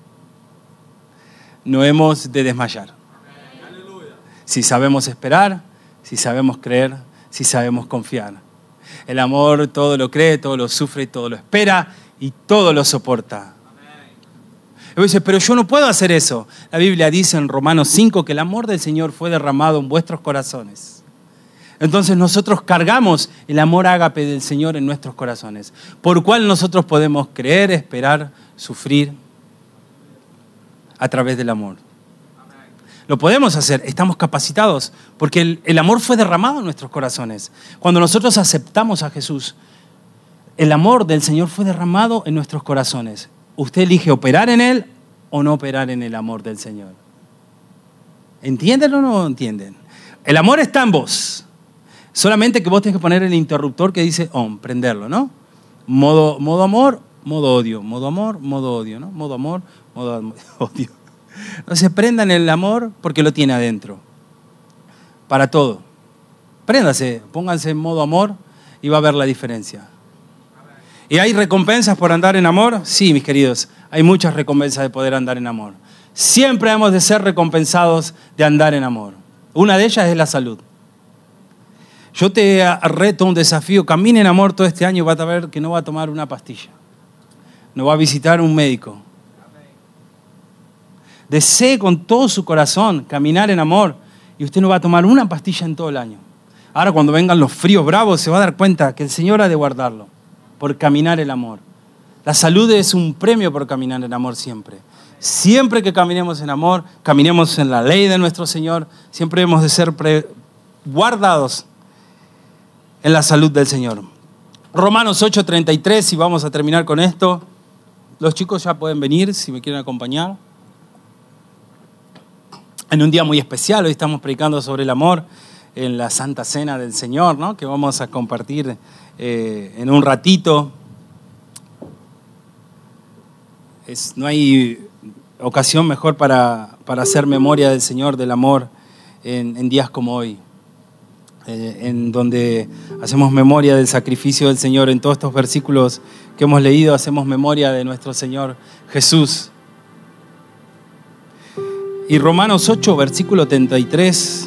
No hemos de desmayar. Si sabemos esperar, si sabemos creer, si sabemos confiar. El amor todo lo cree, todo lo sufre, todo lo espera y todo lo soporta. Y dice, pero yo no puedo hacer eso. La Biblia dice en Romanos cinco que el amor del Señor fue derramado en vuestros corazones. Entonces nosotros cargamos el amor ágape del Señor en nuestros corazones, por cual nosotros podemos creer, esperar, sufrir a través del amor. Lo podemos hacer, estamos capacitados, porque el, el amor fue derramado en nuestros corazones. Cuando nosotros aceptamos a Jesús, el amor del Señor fue derramado en nuestros corazones. Usted elige operar en Él o no operar en el amor del Señor. ¿Entienden o no entienden? El amor está en vos. Solamente que vos tenés que poner el interruptor que dice on, prenderlo, ¿no? Modo, modo amor, modo odio. Modo amor, modo odio, ¿no? Modo amor, modo odio. Entonces prendan el amor porque lo tiene adentro. Para todo. Préndase, pónganse en modo amor y va a ver la diferencia. ¿Y hay recompensas por andar en amor? Sí, mis queridos, hay muchas recompensas de poder andar en amor. Siempre hemos de ser recompensados de andar en amor. Una de ellas es la salud. Yo te reto un desafío, camine en amor todo este año y vas a ver que no va a tomar una pastilla. No va a visitar un médico. Desee con todo su corazón caminar en amor y usted no va a tomar una pastilla en todo el año. Ahora cuando vengan los fríos bravos se va a dar cuenta que el Señor ha de guardarlo por caminar el amor. La salud es un premio por caminar en amor siempre. Siempre que caminemos en amor, caminemos en la ley de nuestro Señor, siempre hemos de ser pre- guardados en la salud del Señor. Romanos ocho treinta y tres, y vamos a terminar con esto. Los chicos ya pueden venir si me quieren acompañar. En un día muy especial, hoy estamos predicando sobre el amor en la Santa Cena del Señor, ¿no? Que vamos a compartir eh, en un ratito. Es, no hay ocasión mejor para, para hacer memoria del Señor, del amor, en, en días como hoy, eh, en donde hacemos memoria del sacrificio del Señor. En todos estos versículos que hemos leído, hacemos memoria de nuestro Señor Jesús. Y Romanos ocho, versículo treinta y tres,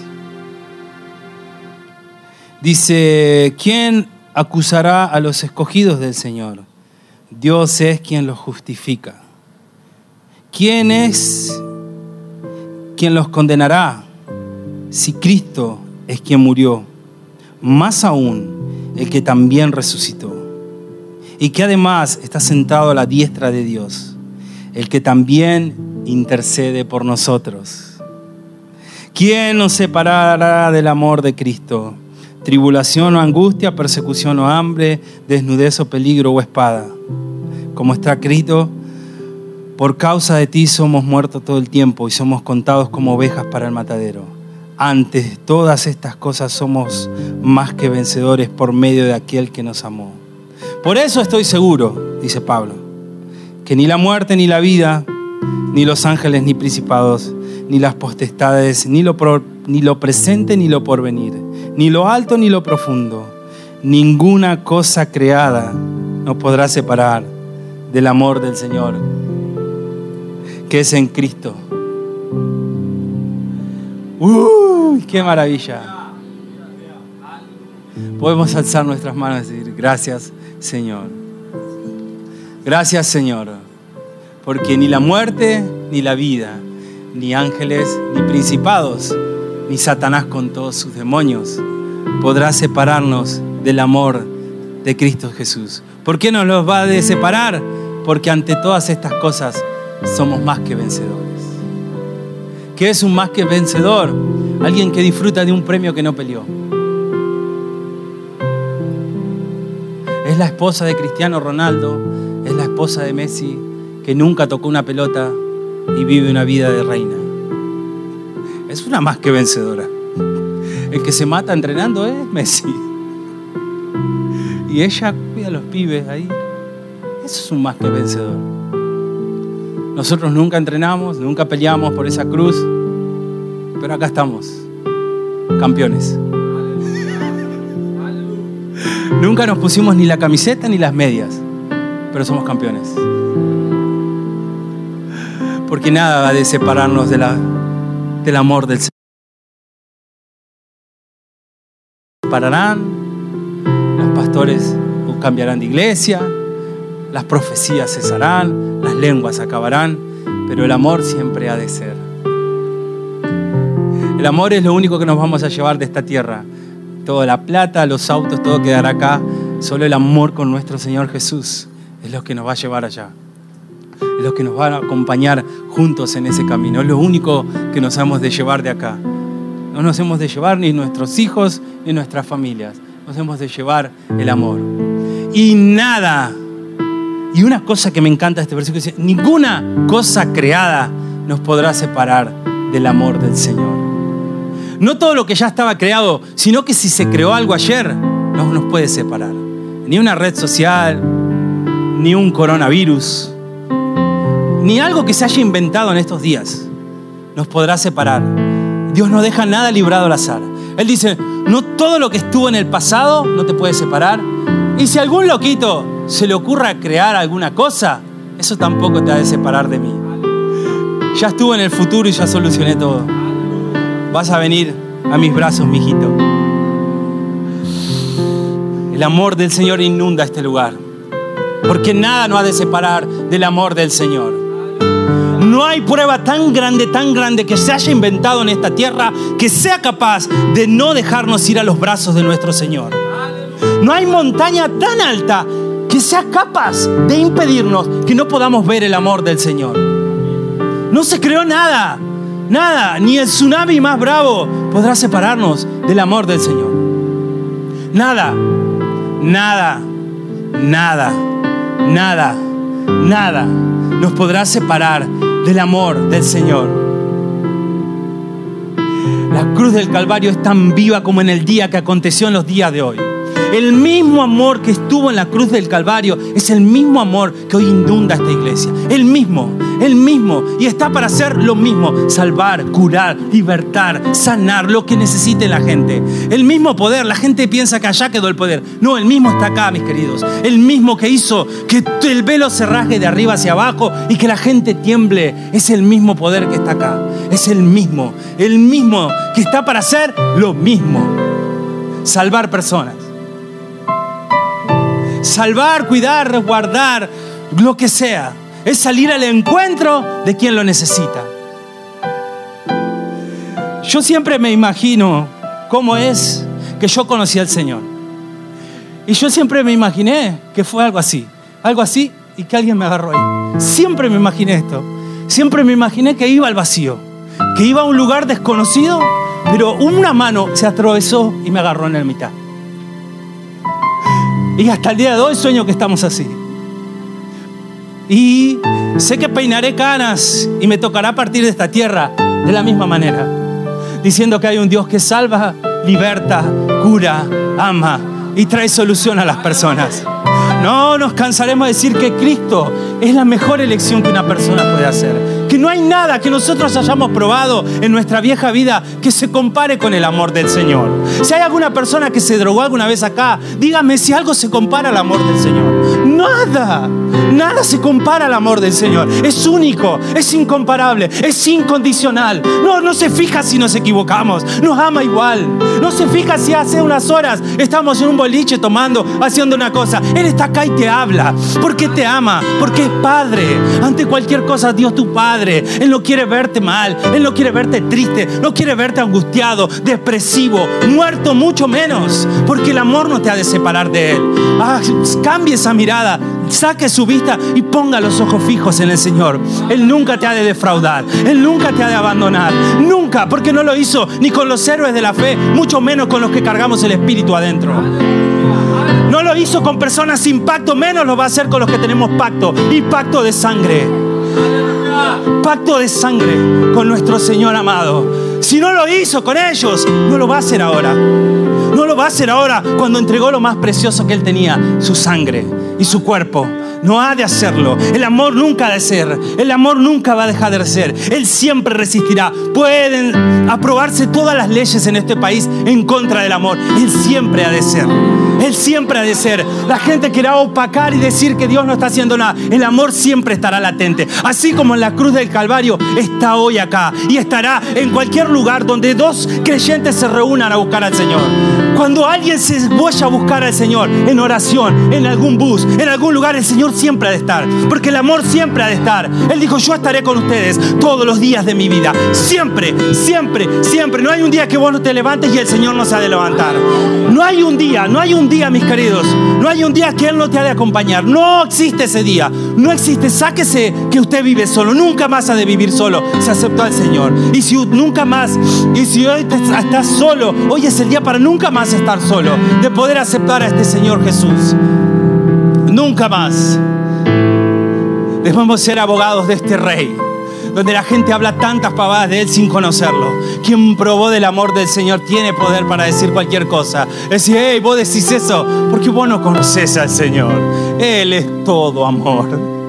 dice, ¿quién acusará a los escogidos del Señor? Dios es quien los justifica. ¿Quién es quien los condenará? Si Cristo es quien murió, más aún el que también resucitó, y que además está sentado a la diestra de Dios, el que también intercede por nosotros. ¿Quién nos separará del amor de Cristo? Tribulación o angustia, persecución o hambre, desnudez o peligro o espada. Como está escrito, por causa de ti somos muertos todo el tiempo y somos contados como ovejas para el matadero. Ante todas estas cosas somos más que vencedores por medio de aquel que nos amó. Por eso estoy seguro, dice Pablo, que ni la muerte ni la vida, ni los ángeles ni principados, ni las potestades, ni lo, pro, ni lo presente ni lo porvenir, ni lo alto ni lo profundo, ninguna cosa creada nos podrá separar del amor del Señor, que es en Cristo. ¡Uy, qué maravilla! Podemos alzar nuestras manos y decir: gracias, Señor. Gracias, Señor, porque ni la muerte, ni la vida, ni ángeles, ni principados, ni Satanás con todos sus demonios podrá separarnos del amor de Cristo Jesús. ¿Por qué nos los va a separar? Porque ante todas estas cosas somos más que vencedores. ¿Qué es un más que vencedor? Alguien que disfruta de un premio que no peleó. Es la esposa de Cristiano Ronaldo, es la esposa de Messi, que nunca tocó una pelota y vive una vida de reina. Es una más que vencedora. El que se mata entrenando es Messi. Y ella cuida a los pibes ahí. Eso es un más que vencedor. Nosotros nunca entrenamos, nunca peleamos por esa cruz, pero acá estamos, campeones. Nunca nos pusimos ni la camiseta ni las medias, pero somos campeones. Porque nada va a separarnos de la, del amor del Señor. Pararán, los pastores cambiarán de iglesia, las profecías cesarán, las lenguas acabarán, pero el amor siempre ha de ser. El amor es lo único que nos vamos a llevar de esta tierra. Toda la plata, los autos, todo quedará acá. Solo el amor con nuestro Señor Jesús es lo que nos va a llevar allá. Es lo que nos va a acompañar juntos en ese camino. Es lo único que nos hemos de llevar de acá. No nos hemos de llevar ni nuestros hijos ni nuestras familias. Nos hemos de llevar el amor. Y nada, y una cosa que me encanta de este versículo dice: ninguna cosa creada nos podrá separar del amor del Señor. No todo lo que ya estaba creado, sino que si se creó algo ayer, no nos puede separar. Ni una red social, ni un coronavirus, ni algo que se haya inventado en estos días nos podrá separar. Dios no deja nada librado al azar. Él dice: no todo lo que estuvo en el pasado no te puede separar. Y si a algún loquito se le ocurra crear alguna cosa, eso tampoco te ha de separar de mí. Ya estuve en el futuro y ya solucioné todo. Vas a venir a mis brazos, mijito. El amor del Señor inunda este lugar, porque nada nos ha de separar del amor del Señor. No hay prueba tan grande, tan grande que se haya inventado en esta tierra que sea capaz de no dejarnos ir a los brazos de nuestro Señor. No hay montaña tan alta que sea capaz de impedirnos que no podamos ver el amor del Señor. No se creó nada, nada, ni el tsunami más bravo podrá separarnos del amor del Señor. Nada, nada, nada, nada, nada nos podrá separar del amor del Señor. La cruz del Calvario es tan viva como en el día que aconteció en los días de hoy. El mismo amor que estuvo en la cruz del Calvario es el mismo amor que hoy inunda esta iglesia. El mismo, el mismo. Y está para hacer lo mismo. Salvar, curar, libertar, sanar, lo que necesite la gente. El mismo poder. La gente piensa que allá quedó el poder. No, el mismo está acá, mis queridos. El mismo que hizo que el velo se rasgue de arriba hacia abajo y que la gente tiemble. Es el mismo poder que está acá. Es el mismo. El mismo que está para hacer lo mismo. Salvar personas. Salvar, cuidar, resguardar, lo que sea. Es salir al encuentro de quien lo necesita. Yo siempre me imagino cómo es que yo conocí al Señor. Y yo siempre me imaginé que fue algo así. Algo así y que alguien me agarró ahí. Siempre me imaginé esto. Siempre me imaginé que iba al vacío. Que iba a un lugar desconocido, pero una mano se atravesó y me agarró en la mitad. Y hasta el día de hoy sueño que estamos así. Y sé que peinaré canas y me tocará partir de esta tierra de la misma manera, diciendo que hay un Dios que salva, liberta, cura, ama y trae solución a las personas. No nos cansaremos de decir que Cristo es la mejor elección que una persona puede hacer. Que que no hay nada que nosotros hayamos probado en nuestra vieja vida que se compare con el amor del Señor. Si hay alguna persona que se drogó alguna vez acá, dígame si algo se compara al amor del Señor. Nada, nada se compara al amor del Señor. Es único, es incomparable, es incondicional. No, no se fija si nos equivocamos, nos ama igual. No se fija si hace unas horas estamos en un boliche tomando, haciendo una cosa. Él está acá y te habla, porque te ama, porque es Padre. Ante cualquier cosa, Dios tu Padre. Él no quiere verte mal, Él no quiere verte triste, no quiere verte angustiado, depresivo, muerto, mucho menos, porque el amor no te ha de separar de Él. Ah, cambie esa mirada, saque su vista y ponga los ojos fijos en el Señor. Él nunca te ha de defraudar, Él nunca te ha de abandonar, nunca, porque no lo hizo ni con los héroes de la fe, mucho menos con los que cargamos el Espíritu adentro. No lo hizo con personas sin pacto, menos lo va a hacer con los que tenemos pacto, y pacto de sangre. Pacto de sangre con nuestro Señor amado. Si no lo hizo con ellos, no lo va a hacer ahora. No lo va a hacer ahora cuando entregó lo más precioso que Él tenía, su sangre y su cuerpo. No ha de hacerlo. El amor nunca ha de ser. El amor nunca va a dejar de ser. Él siempre resistirá. Pueden aprobarse todas las leyes en este país en contra del amor. Él siempre ha de ser. Él siempre ha de ser. La gente querrá opacar y decir que Dios no está haciendo nada. El amor siempre estará latente. Así como en la cruz del Calvario está hoy acá y estará en cualquier lugar donde dos creyentes se reúnan a buscar al Señor. Cuando alguien se vaya a buscar al Señor en oración, en algún bus, en algún lugar, el Señor siempre ha de estar, porque el amor siempre ha de estar. Él dijo: yo estaré con ustedes todos los días de mi vida. Siempre, siempre, siempre. No hay un día que vos no te levantes y el Señor no se ha de levantar. No hay un día, no hay un día, mis queridos. No hay un día que Él no te ha de acompañar. No existe ese día. No existe. Sáquese que usted vive solo. Nunca más ha de vivir solo. Se aceptó al Señor. Y si nunca más, y si hoy te, estás solo, hoy es el día para nunca más estar solo, de poder aceptar a este Señor Jesús. Nunca más debemos ser abogados de este Rey, donde la gente habla tantas pavadas de Él sin conocerlo. Quien probó del amor del Señor tiene poder para decir cualquier cosa. Decir: hey, vos decís eso porque vos no conocés al Señor. Él es todo amor.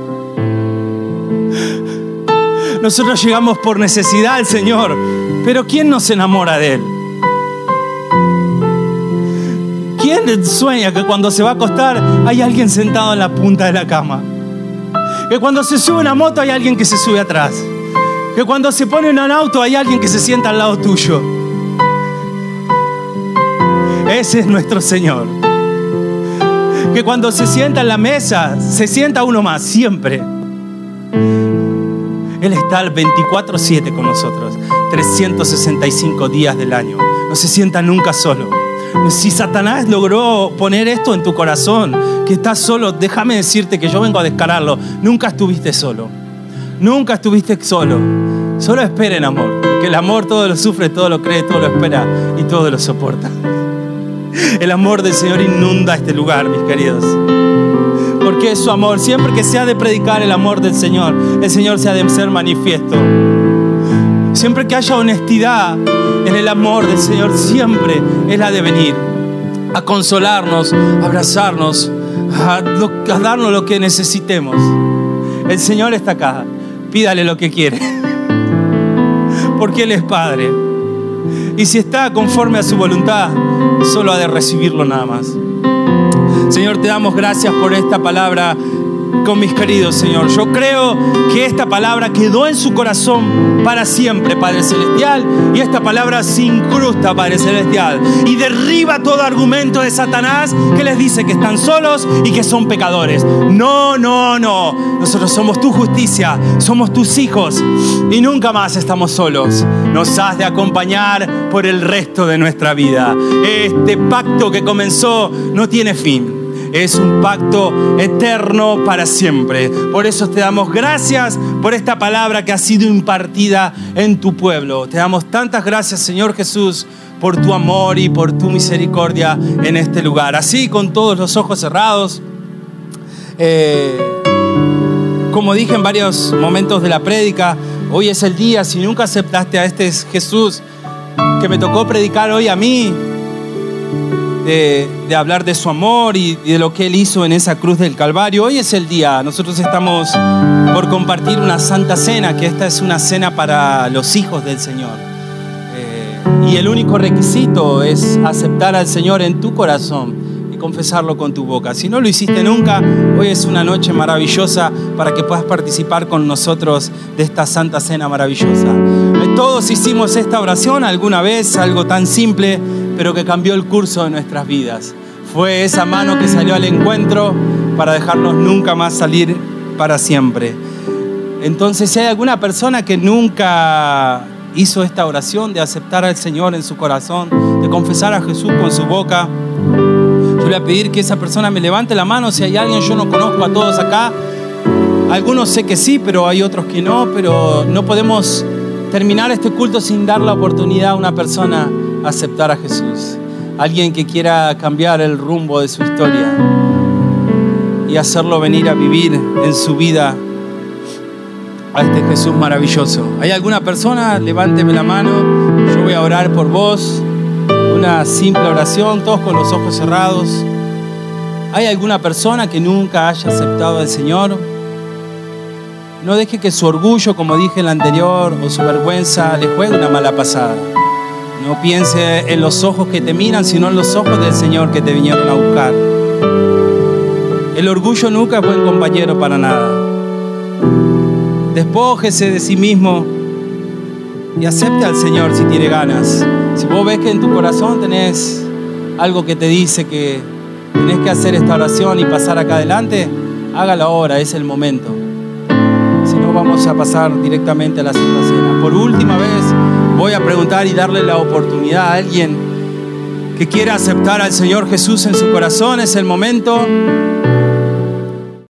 Nosotros llegamos por necesidad al Señor, pero ¿quién nos enamora de Él? ¿Quién sueña que cuando se va a acostar hay alguien sentado en la punta de la cama? Que cuando se sube una moto hay alguien que se sube atrás. Que cuando se pone en un auto hay alguien que se sienta al lado tuyo. Ese es nuestro Señor. Que cuando se sienta en la mesa, se sienta uno más, siempre. Él está al veinticuatro siete con nosotros, trescientos sesenta y cinco días del año. No se sienta nunca solo. Si Satanás logró poner esto en tu corazón, que estás solo, déjame decirte que yo vengo a descararlo. Nunca estuviste solo. Nunca estuviste solo. Solo esperen amor, porque el amor todo lo sufre, todo lo cree, todo lo espera y todo lo soporta. El amor del Señor inunda este lugar, mis queridos, porque es su amor. Siempre que se ha de predicar el amor del Señor, el Señor se ha de ser manifiesto. Siempre que haya honestidad en el amor del Señor, siempre Él ha de venir a consolarnos, a abrazarnos, a, a darnos lo que necesitemos. El Señor está acá. Pídale lo que quiere, porque Él es Padre. Y si está conforme a su voluntad, solo ha de recibirlo nada más. Señor, te damos gracias por esta palabra con mis queridos, Señor. Yo creo que esta palabra quedó en su corazón para siempre, Padre Celestial, y esta palabra se incrusta, Padre Celestial, y derriba todo argumento de Satanás que les dice que están solos y que son pecadores. No, no, no. Nosotros somos tu justicia, somos tus hijos y nunca más estamos solos. Nos has de acompañar por el resto de nuestra vida. Este pacto que comenzó no tiene fin. Es un pacto eterno para siempre. Por eso te damos gracias por esta palabra que ha sido impartida en tu pueblo. Te damos tantas gracias, Señor Jesús, por tu amor y por tu misericordia en este lugar. Así, con todos los ojos cerrados, eh, como dije en varios momentos de la prédica, hoy es el día. Si nunca aceptaste a este Jesús que me tocó predicar hoy a mí, de, de hablar de su amor y de lo que Él hizo en esa cruz del Calvario. Hoy es el día. Nosotros estamos por compartir una santa cena, que esta es una cena para los hijos del Señor. Eh, y el único requisito es aceptar al Señor en tu corazón y confesarlo con tu boca. Si no lo hiciste nunca, hoy es una noche maravillosa para que puedas participar con nosotros de esta santa cena maravillosa. Todos hicimos esta oración alguna vez, algo tan simple, pero que cambió el curso de nuestras vidas. Fue esa mano que salió al encuentro para dejarnos nunca más salir para siempre. Entonces, si hay alguna persona que nunca hizo esta oración de aceptar al Señor en su corazón, de confesar a Jesús con su boca, yo le voy a pedir que esa persona me levante la mano. Si hay alguien, yo no conozco a todos acá. Algunos sé que sí, pero hay otros que no, pero no podemos terminar este culto sin dar la oportunidad a una persona a aceptar a Jesús. Alguien que quiera cambiar el rumbo de su historia y hacerlo venir a vivir en su vida a este Jesús maravilloso. ¿Hay alguna persona? Levánteme la mano. Yo voy a orar por vos. Una simple oración, todos con los ojos cerrados. ¿Hay alguna persona que nunca haya aceptado al Señor? No deje que su orgullo, como dije en la anterior, o su vergüenza le juegue una mala pasada. No piense en los ojos que te miran, sino en los ojos del Señor que te vinieron a buscar. El orgullo nunca es buen compañero para nada. Despójese de sí mismo y acepte al Señor si tiene ganas. Si vos ves que en tu corazón tenés algo que te dice que tenés que hacer esta oración y pasar acá adelante, hágalo ahora, es el momento. Vamos a pasar directamente a la Santa Cena. Por última vez voy a preguntar y darle la oportunidad a alguien que quiera aceptar al Señor Jesús en su corazón. Es el momento.